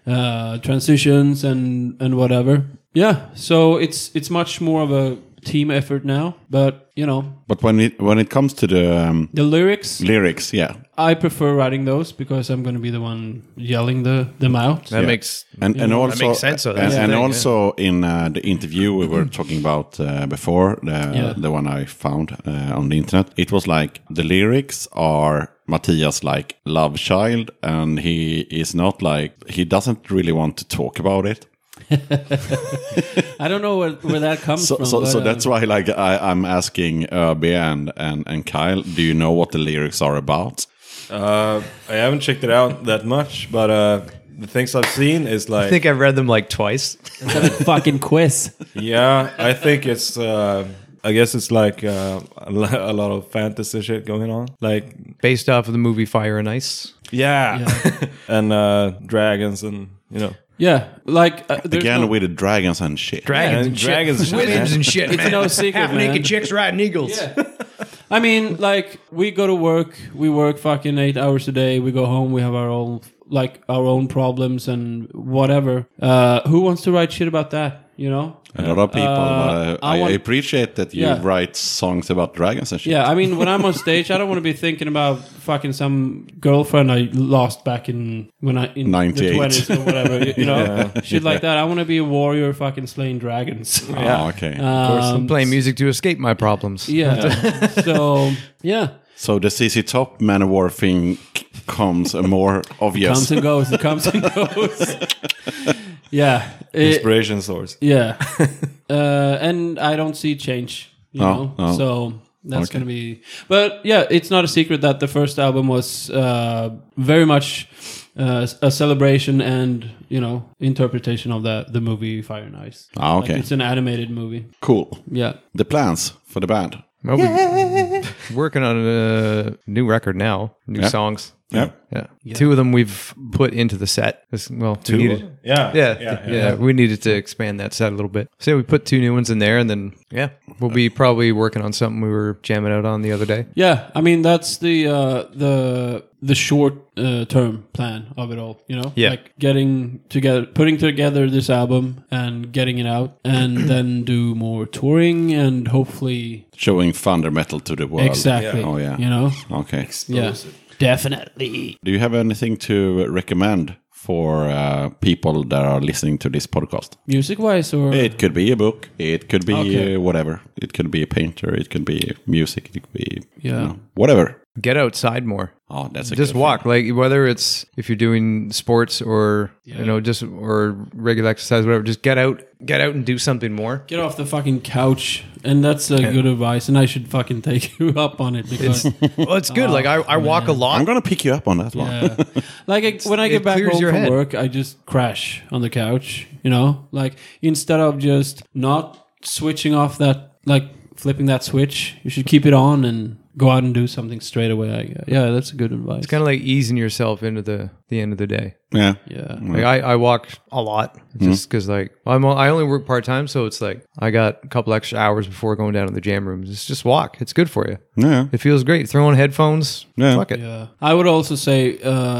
transitions and whatever. Yeah, so it's much more of a team effort now, but you know, But when it comes to the the lyrics, yeah, I prefer writing those because I'm going to be the one yelling them out. That Yeah. makes and also that makes sense. So that's the and thing, also in the interview we were talking about before, the one I found on the internet, it was like the lyrics are Matthias like love child, and he is not like, he doesn't really want to talk about it. I don't know where that comes from. So but, that's why like I'm asking Öby and Kyle, do you know what the lyrics are about? I haven't checked it out that much, but the things I've seen is I like, think I've read them like twice. fucking quiz. yeah, I think it's, I guess it's like a lot of fantasy shit going on. Like, Based off of the movie Fire and Ice. yeah, and dragons and, you know. Yeah, like there's Again no, with the dragons and shit. Dragons and and dragons and shit. shit, Wizards man. and shit, man. no secret, Half-naked man. chicks riding eagles. Yeah. I mean, like we go to work, we work fucking 8 hours a day. We go home, we have our own problems and whatever. Who wants to write shit about that? You know. A lot of people. I want- appreciate that you Yeah. write songs about dragons and shit. Yeah, I mean, when I'm on stage, I don't want to be thinking about fucking some girlfriend I lost back in 98. the 20s or whatever. You know, shit like that. I want to be a warrior, fucking slaying dragons. Oh, okay. I'm playing music to escape my problems. Yeah. So yeah, So the CC Top Manowar thing comes more obvious. comes and goes. It comes and goes. Yeah. Inspiration source. Yeah. And I don't see change, you know? Oh. So that's Okay. going to be... But yeah, it's not a secret that the first album was very much a celebration and, you know, interpretation of the movie Fire and Ice. Ah, okay. Like, it's an animated movie. Cool. Yeah. The plans for the band. Well, we're working on a new record now, new Yeah. songs. Yeah. Yeah. Two of them we've put into the set. Well, Two? we needed, Yeah. we needed to expand that set a little bit. So we put two new ones in there, and then we'll be probably working on something we were jamming out on the other day. Yeah, I mean that's the short term plan of it all, you know. Yeah. Like putting together this album and getting it out, and then do more touring and hopefully Showing thunder metal to the world. exactly. Oh, yeah. You know. Okay. Yeah. Definitely. Do you have anything to recommend for people that are listening to this podcast? Music-wise, or It could be a book. It could be whatever. It could be a painter. It could be music. It could be whatever. Get outside more. Oh, that's a Just good walk, thing. like whether it's if you're doing sports or just or regular exercise, whatever. Just get out and do something more. get off the fucking couch, and that's good advice. And I should fucking take you up on it because Well, it's good. Like I walk a lot. I'm gonna pick you up on that one. yeah. Like when I it get back clears home your from head. work, I just crash on the couch. Like instead of just not switching off that, like flipping that switch, you should keep it on and go out and do something straight away. Yeah, that's a good advice. It's kind of like easing yourself into the end of the day. Yeah. yeah. Like I walk a lot just because like I only work part time, so it's like I got a couple extra hours before going down to the jam rooms. It's just walk. It's good for you. Yeah. It feels great. Throw on headphones. Yeah. Fuck it. Yeah. I would also say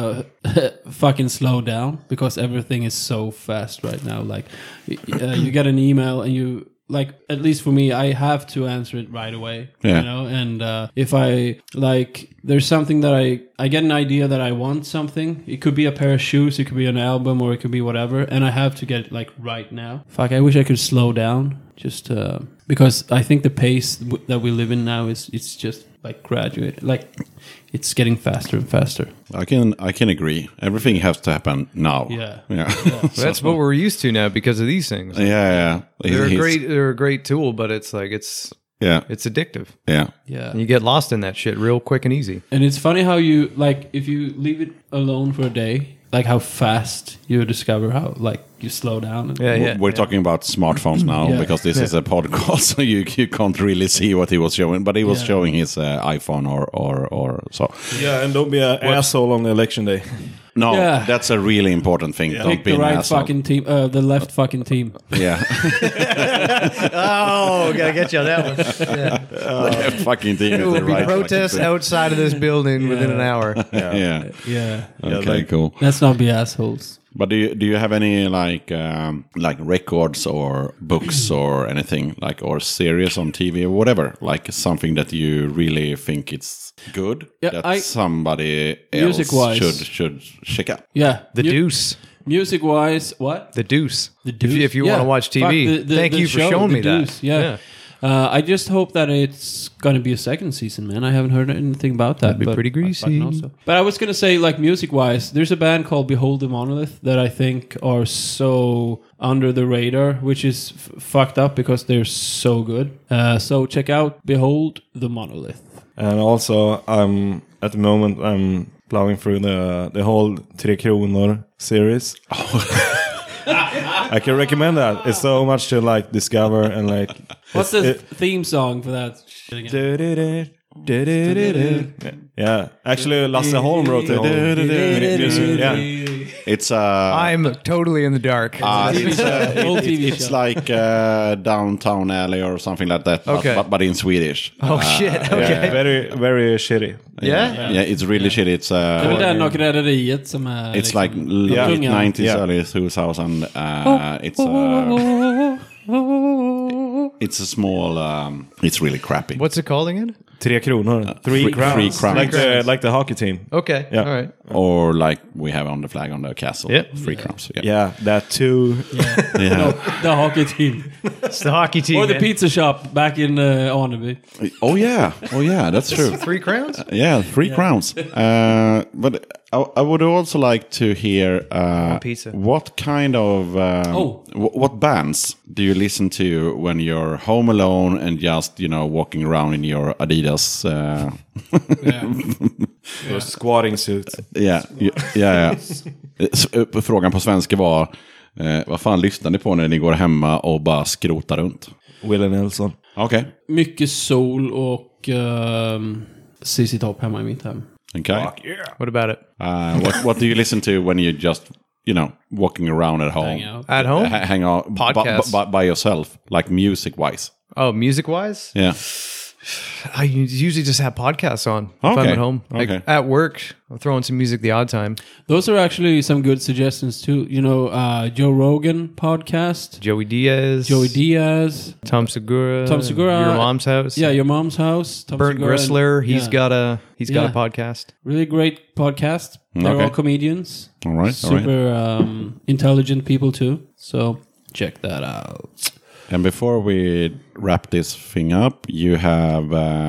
fucking slow down because everything is so fast right now. Like you get an email and you like, at least for me, I have to answer it right away. Yeah. And if I like, there's something that I get an idea that I want something. It could be a pair of shoes, it could be an album, or it could be whatever, and I have to get it like right now. Fuck, I wish I could slow down just because I think the pace that we live in now it's just like graduate, like it's getting faster and faster. I can agree. Everything has to happen now. Yeah. Yeah. That's what we're used to now because of these things. Yeah. They're a great tool, but it's like it's addictive. Yeah. Yeah. And you get lost in that shit real quick and easy. And it's funny how you, like, if you leave it alone for a day, like how fast you discover how, like, you slow down. And We're talking about smartphones now Yeah. because this is a podcast, so you can't really see what he was showing. But he was showing his iPhone or so. Yeah, and don't be an asshole on the election day. No, Yeah. that's a really important thing. Don't Pick be the an right asshole. fucking team, the left fucking team. Yeah. Oh, gotta get you on that one. The fucking team There is will the be right protests fucking outside of this building within an hour. thing. Yeah. Yeah. Okay, cool. Let's not be assholes. But do you have any like records or books or anything like or series on TV or whatever, like something that you really think it's good Yeah, that somebody else Music-wise. should check out? Yeah. The Deuce. Music-wise, what? The Deuce. The Deuce? If you Yeah. want to watch TV, Fuck, the thank you for show, showing The me that. Deuce, Yeah. I just hope that it's going to be a second season, man. I haven't heard anything about that. That'd be pretty greasy. But I was going to say, like, music-wise, there's a band called Behold the Monolith that I think are so under the radar, which is fucked up because they're so good. So check out Behold the Monolith. And also, at the moment, I'm plowing through the whole Tre Kronor series. I can recommend that. It's so much to like discover and like. What's the theme song for that shit again? Yeah, actually, Lasse Holm wrote the whole music. Yeah, It's I'm totally in the dark. Old TV it's show. like Downtown Alley or something like that, Okay. but in Swedish. Oh shit! Okay. very very shitty. Yeah? Yeah, it's really shit. It's Det är där nog rederiet som är... it's liksom, like late tunga. 90s, Yeah. early 2000. It's a small. It's really crappy. What's it called again? Tre Kronor. Three crowns. Three crowns. Like the hockey team. Okay. Yeah. All right. Or like we have on the flag on the castle. Yep. 3 crowns. Yeah. Yeah, that too. Yeah. The hockey team. It's the hockey team. Or the man. pizza shop back in Arneby. Oh yeah. That's true. 3 crowns? Yeah, 3 crowns. But I would also like to hear Pizza. what kind of what bands do you listen to when you're home alone and just walking around in your Adidas? Your squatting suit. Ja. Frågan på svenska var vad fan lyssnar ni på när ni går hemma och bara skrotar runt? Willie Nelson. Okej. Mycket sol och CC Top hemma i mitt hem. Okay. What about it? What do you listen to when you just walking around at home? Hang out. At home? Hang out Podcasts. by yourself, like music wise. Oh, music wise? Yeah. I usually just have podcasts on if Okay. I'm at home. Like Okay. at work, I'm throwing some music the odd time. Those are actually some good suggestions too. You know, Joe Rogan podcast, Joey Diaz, Tom Segura, Your Mom's House. Yeah, Your Mom's House. Tom Bernd Segura Grissler, and- he's got a Yeah. podcast. really great podcast. They're Okay. all comedians. All right. Super intelligent people too. So check that out. And before we wrap this thing up, you have,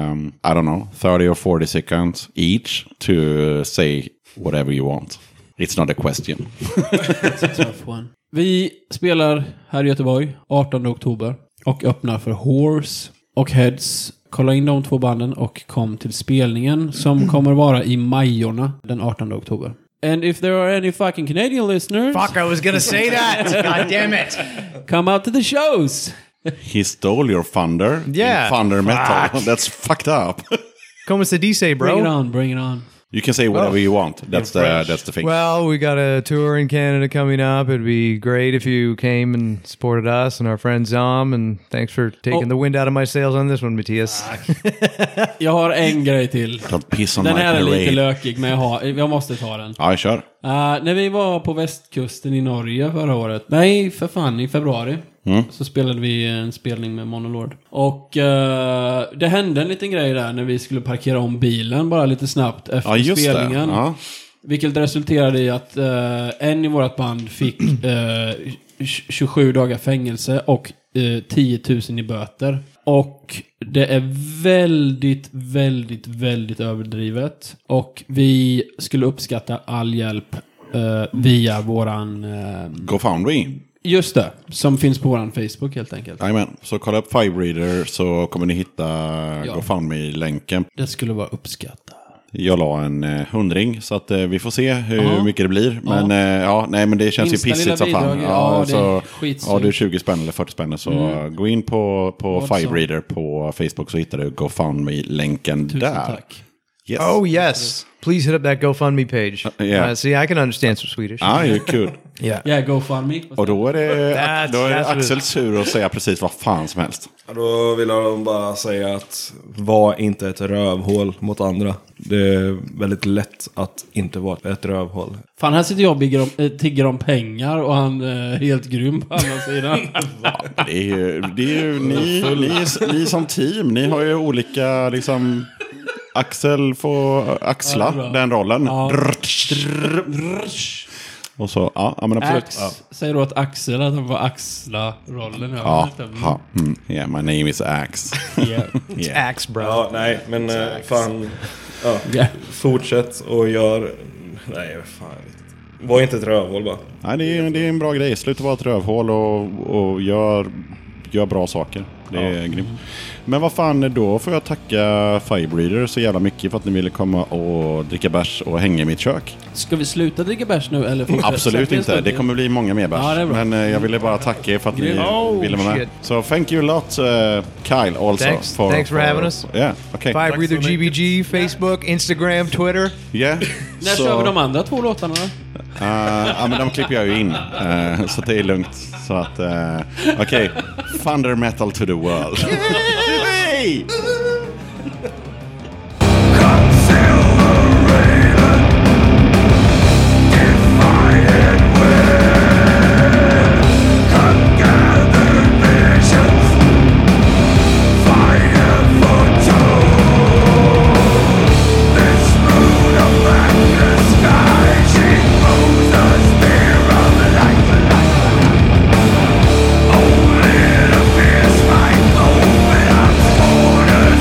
30 or 40 seconds each to say whatever you want. It's not a question. Tough one. Vi spelar här i Göteborg 18 oktober och öppnar för Horse och Heads. Kolla in de 2 banden och kom till spelningen som kommer vara i Majorna den 18 oktober. And if there are any fucking Canadian listeners, Fuck, I was gonna say that. God damn it. come out to the shows. He stole your thunder. Yeah. In thunder metal. That's fucked up. Como se dice, Bring it bro? on, bring it on. You can say whatever you want. That's the thing. Well, we got a tour in Canada coming up. It'd be great if you came and supported us and our friend Zom. And thanks for taking the wind out of my sails on this one, Matthias. Jag har en grej till. Don't piss on Den my här är lite parade. lökig, men jag måste ta den. Ja, kör. När vi var på västkusten i Norge förra året, nej för fan, i februari, så spelade vi en spelning med Monolord. Och det hände en liten grej där när vi skulle parkera om bilen bara lite snabbt efter Ja, just spelningen. det. Ja. Vilket resulterade i att en i vårt band fick 27 dagar fängelse och 10 000 i böter. Och det är väldigt, väldigt, väldigt överdrivet. Och vi skulle uppskatta all hjälp via våran... GoFundMe. Just det, som finns på våran Facebook helt enkelt. Jajamän. Så kolla upp Firebreeder så kommer ni hitta GoFundMe-länken. Det skulle vara uppskattat. Jag la en 100 så att vi får se hur mycket det blir. Men men det känns Minsta ju pissigt lilla som fan. bidrag, ja, det är så skitsurt. har du 20 spänn eller 40 spänn så gå in på Firebreeder på Facebook så hittar du GoFundMe-länken Tusen där. tack. Yes. Oh, yes. Please hit up that GoFundMe page. Yeah. See, I can understand some Swedish. You're cool. Yeah. Yeah, GoFundMe. Och då är det That's Axels tur att säga precis vad fan som helst. Då vill jag bara säga att var inte ett rövhål mot andra. Det är väldigt lätt att inte vara ett rövhål. Fan, här sitter jag och tigger om pengar och han är helt grym på andra sidan. Det är ju ni som team. Ni har ju olika liksom... Axel får axla den rollen. Ja. Och så, men absolut. Säger du att Axel att han får axla rollen? Yeah, my name is Axe. Yeah. Axe, bro. Ja, nej, men fan. Ja, Yeah. fortsätt och gör... Nej, fan. Var inte ett rövhål bara. Nej, det är en bra grej. Sluta vara ett rövhål och gör bra saker. Det är grymt. Men vad fan, då får jag tacka Firebreeder så jävla mycket för att ni ville komma och dricka bärs och hänga i mitt kök. Ska vi sluta dricka bärs nu? Eller fortsätta? Absolut inte. Det kommer bli många mer bärs. Ja, det är bra. Men jag ville bara tacka er för att ni ville vara med. shit. So thank you a lot, Kyle, also. Thanks for having us. Yeah, okay. Firebreather GBG, Facebook, Instagram, Twitter. Yeah. När kör vi de andra 2 låtarna då? Men de klipper jag ju in. Så det är lugnt. Så att, okej. Thunder metal to the world. Yay! Only to pierce my open arms,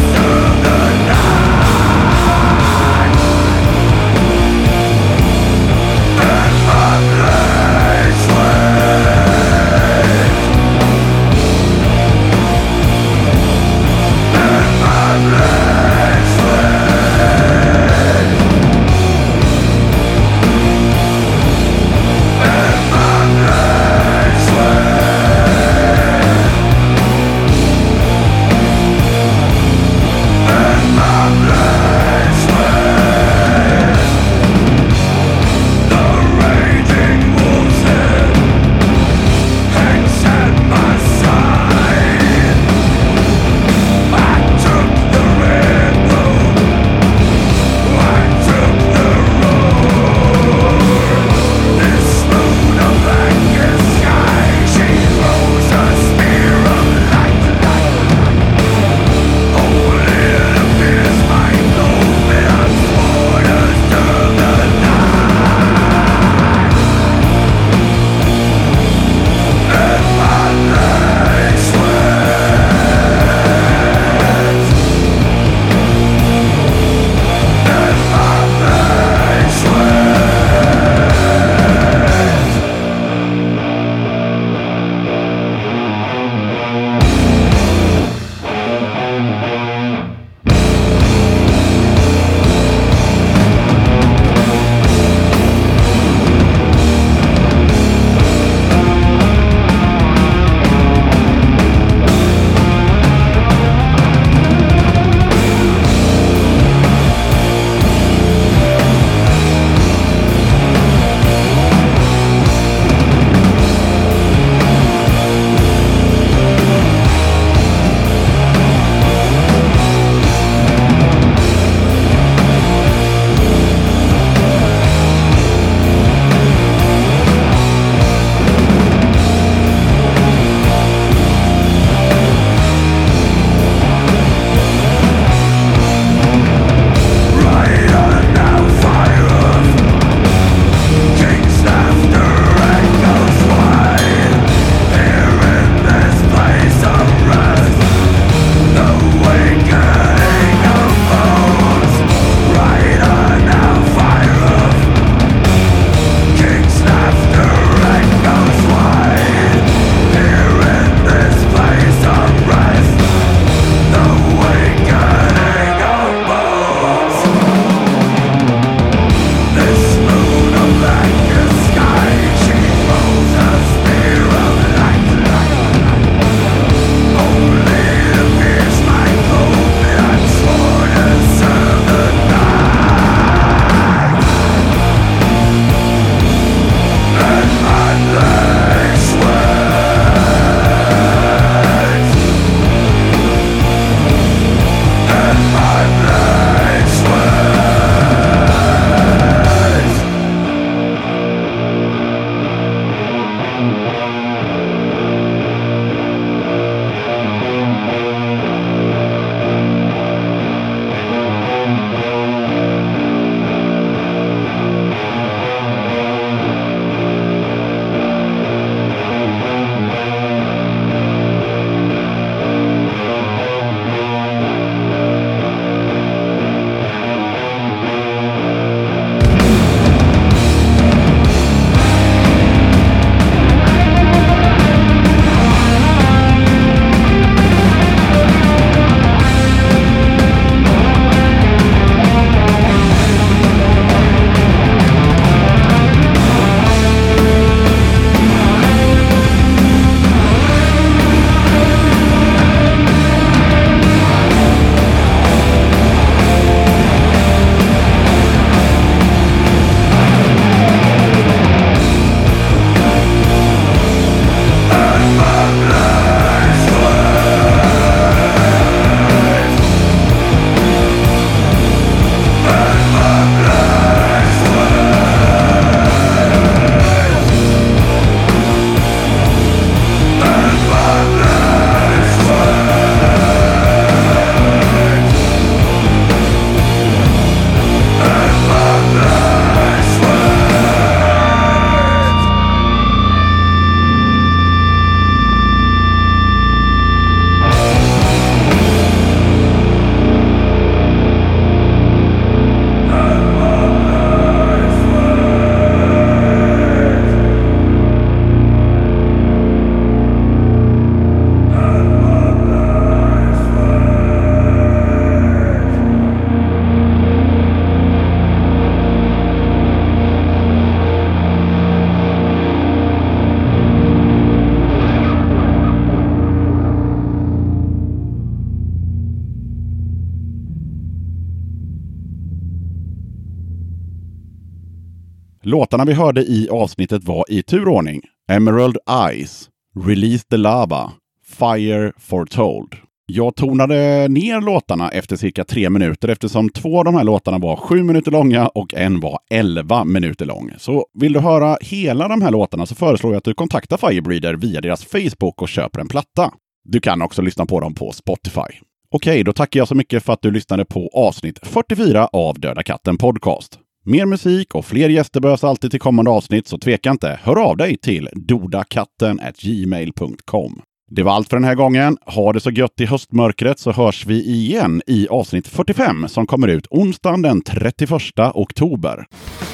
Låtarna vi hörde i avsnittet var i turordning: Emerald Eyes, Release the Lava, Fire Foretold. Jag tonade ner låtarna efter cirka 3 minuter eftersom 2 av de här låtarna var 7 minuter långa och en var 11 minuter lång. Så vill du höra hela de här låtarna så föreslår jag att du kontaktar Firebreeder via deras Facebook och köper en platta. Du kan också lyssna på dem på Spotify. Okej, då tackar jag så mycket för att du lyssnade på avsnitt 44 av Döda katten podcast. Mer musik och fler gäster behövs alltid till kommande avsnitt, så tveka inte. Hör av dig till dodakatten@gmail.com. Det var allt för den här gången. Ha det så gött i höstmörkret, så hörs vi igen i avsnitt 45 som kommer ut onsdagen den 31 oktober.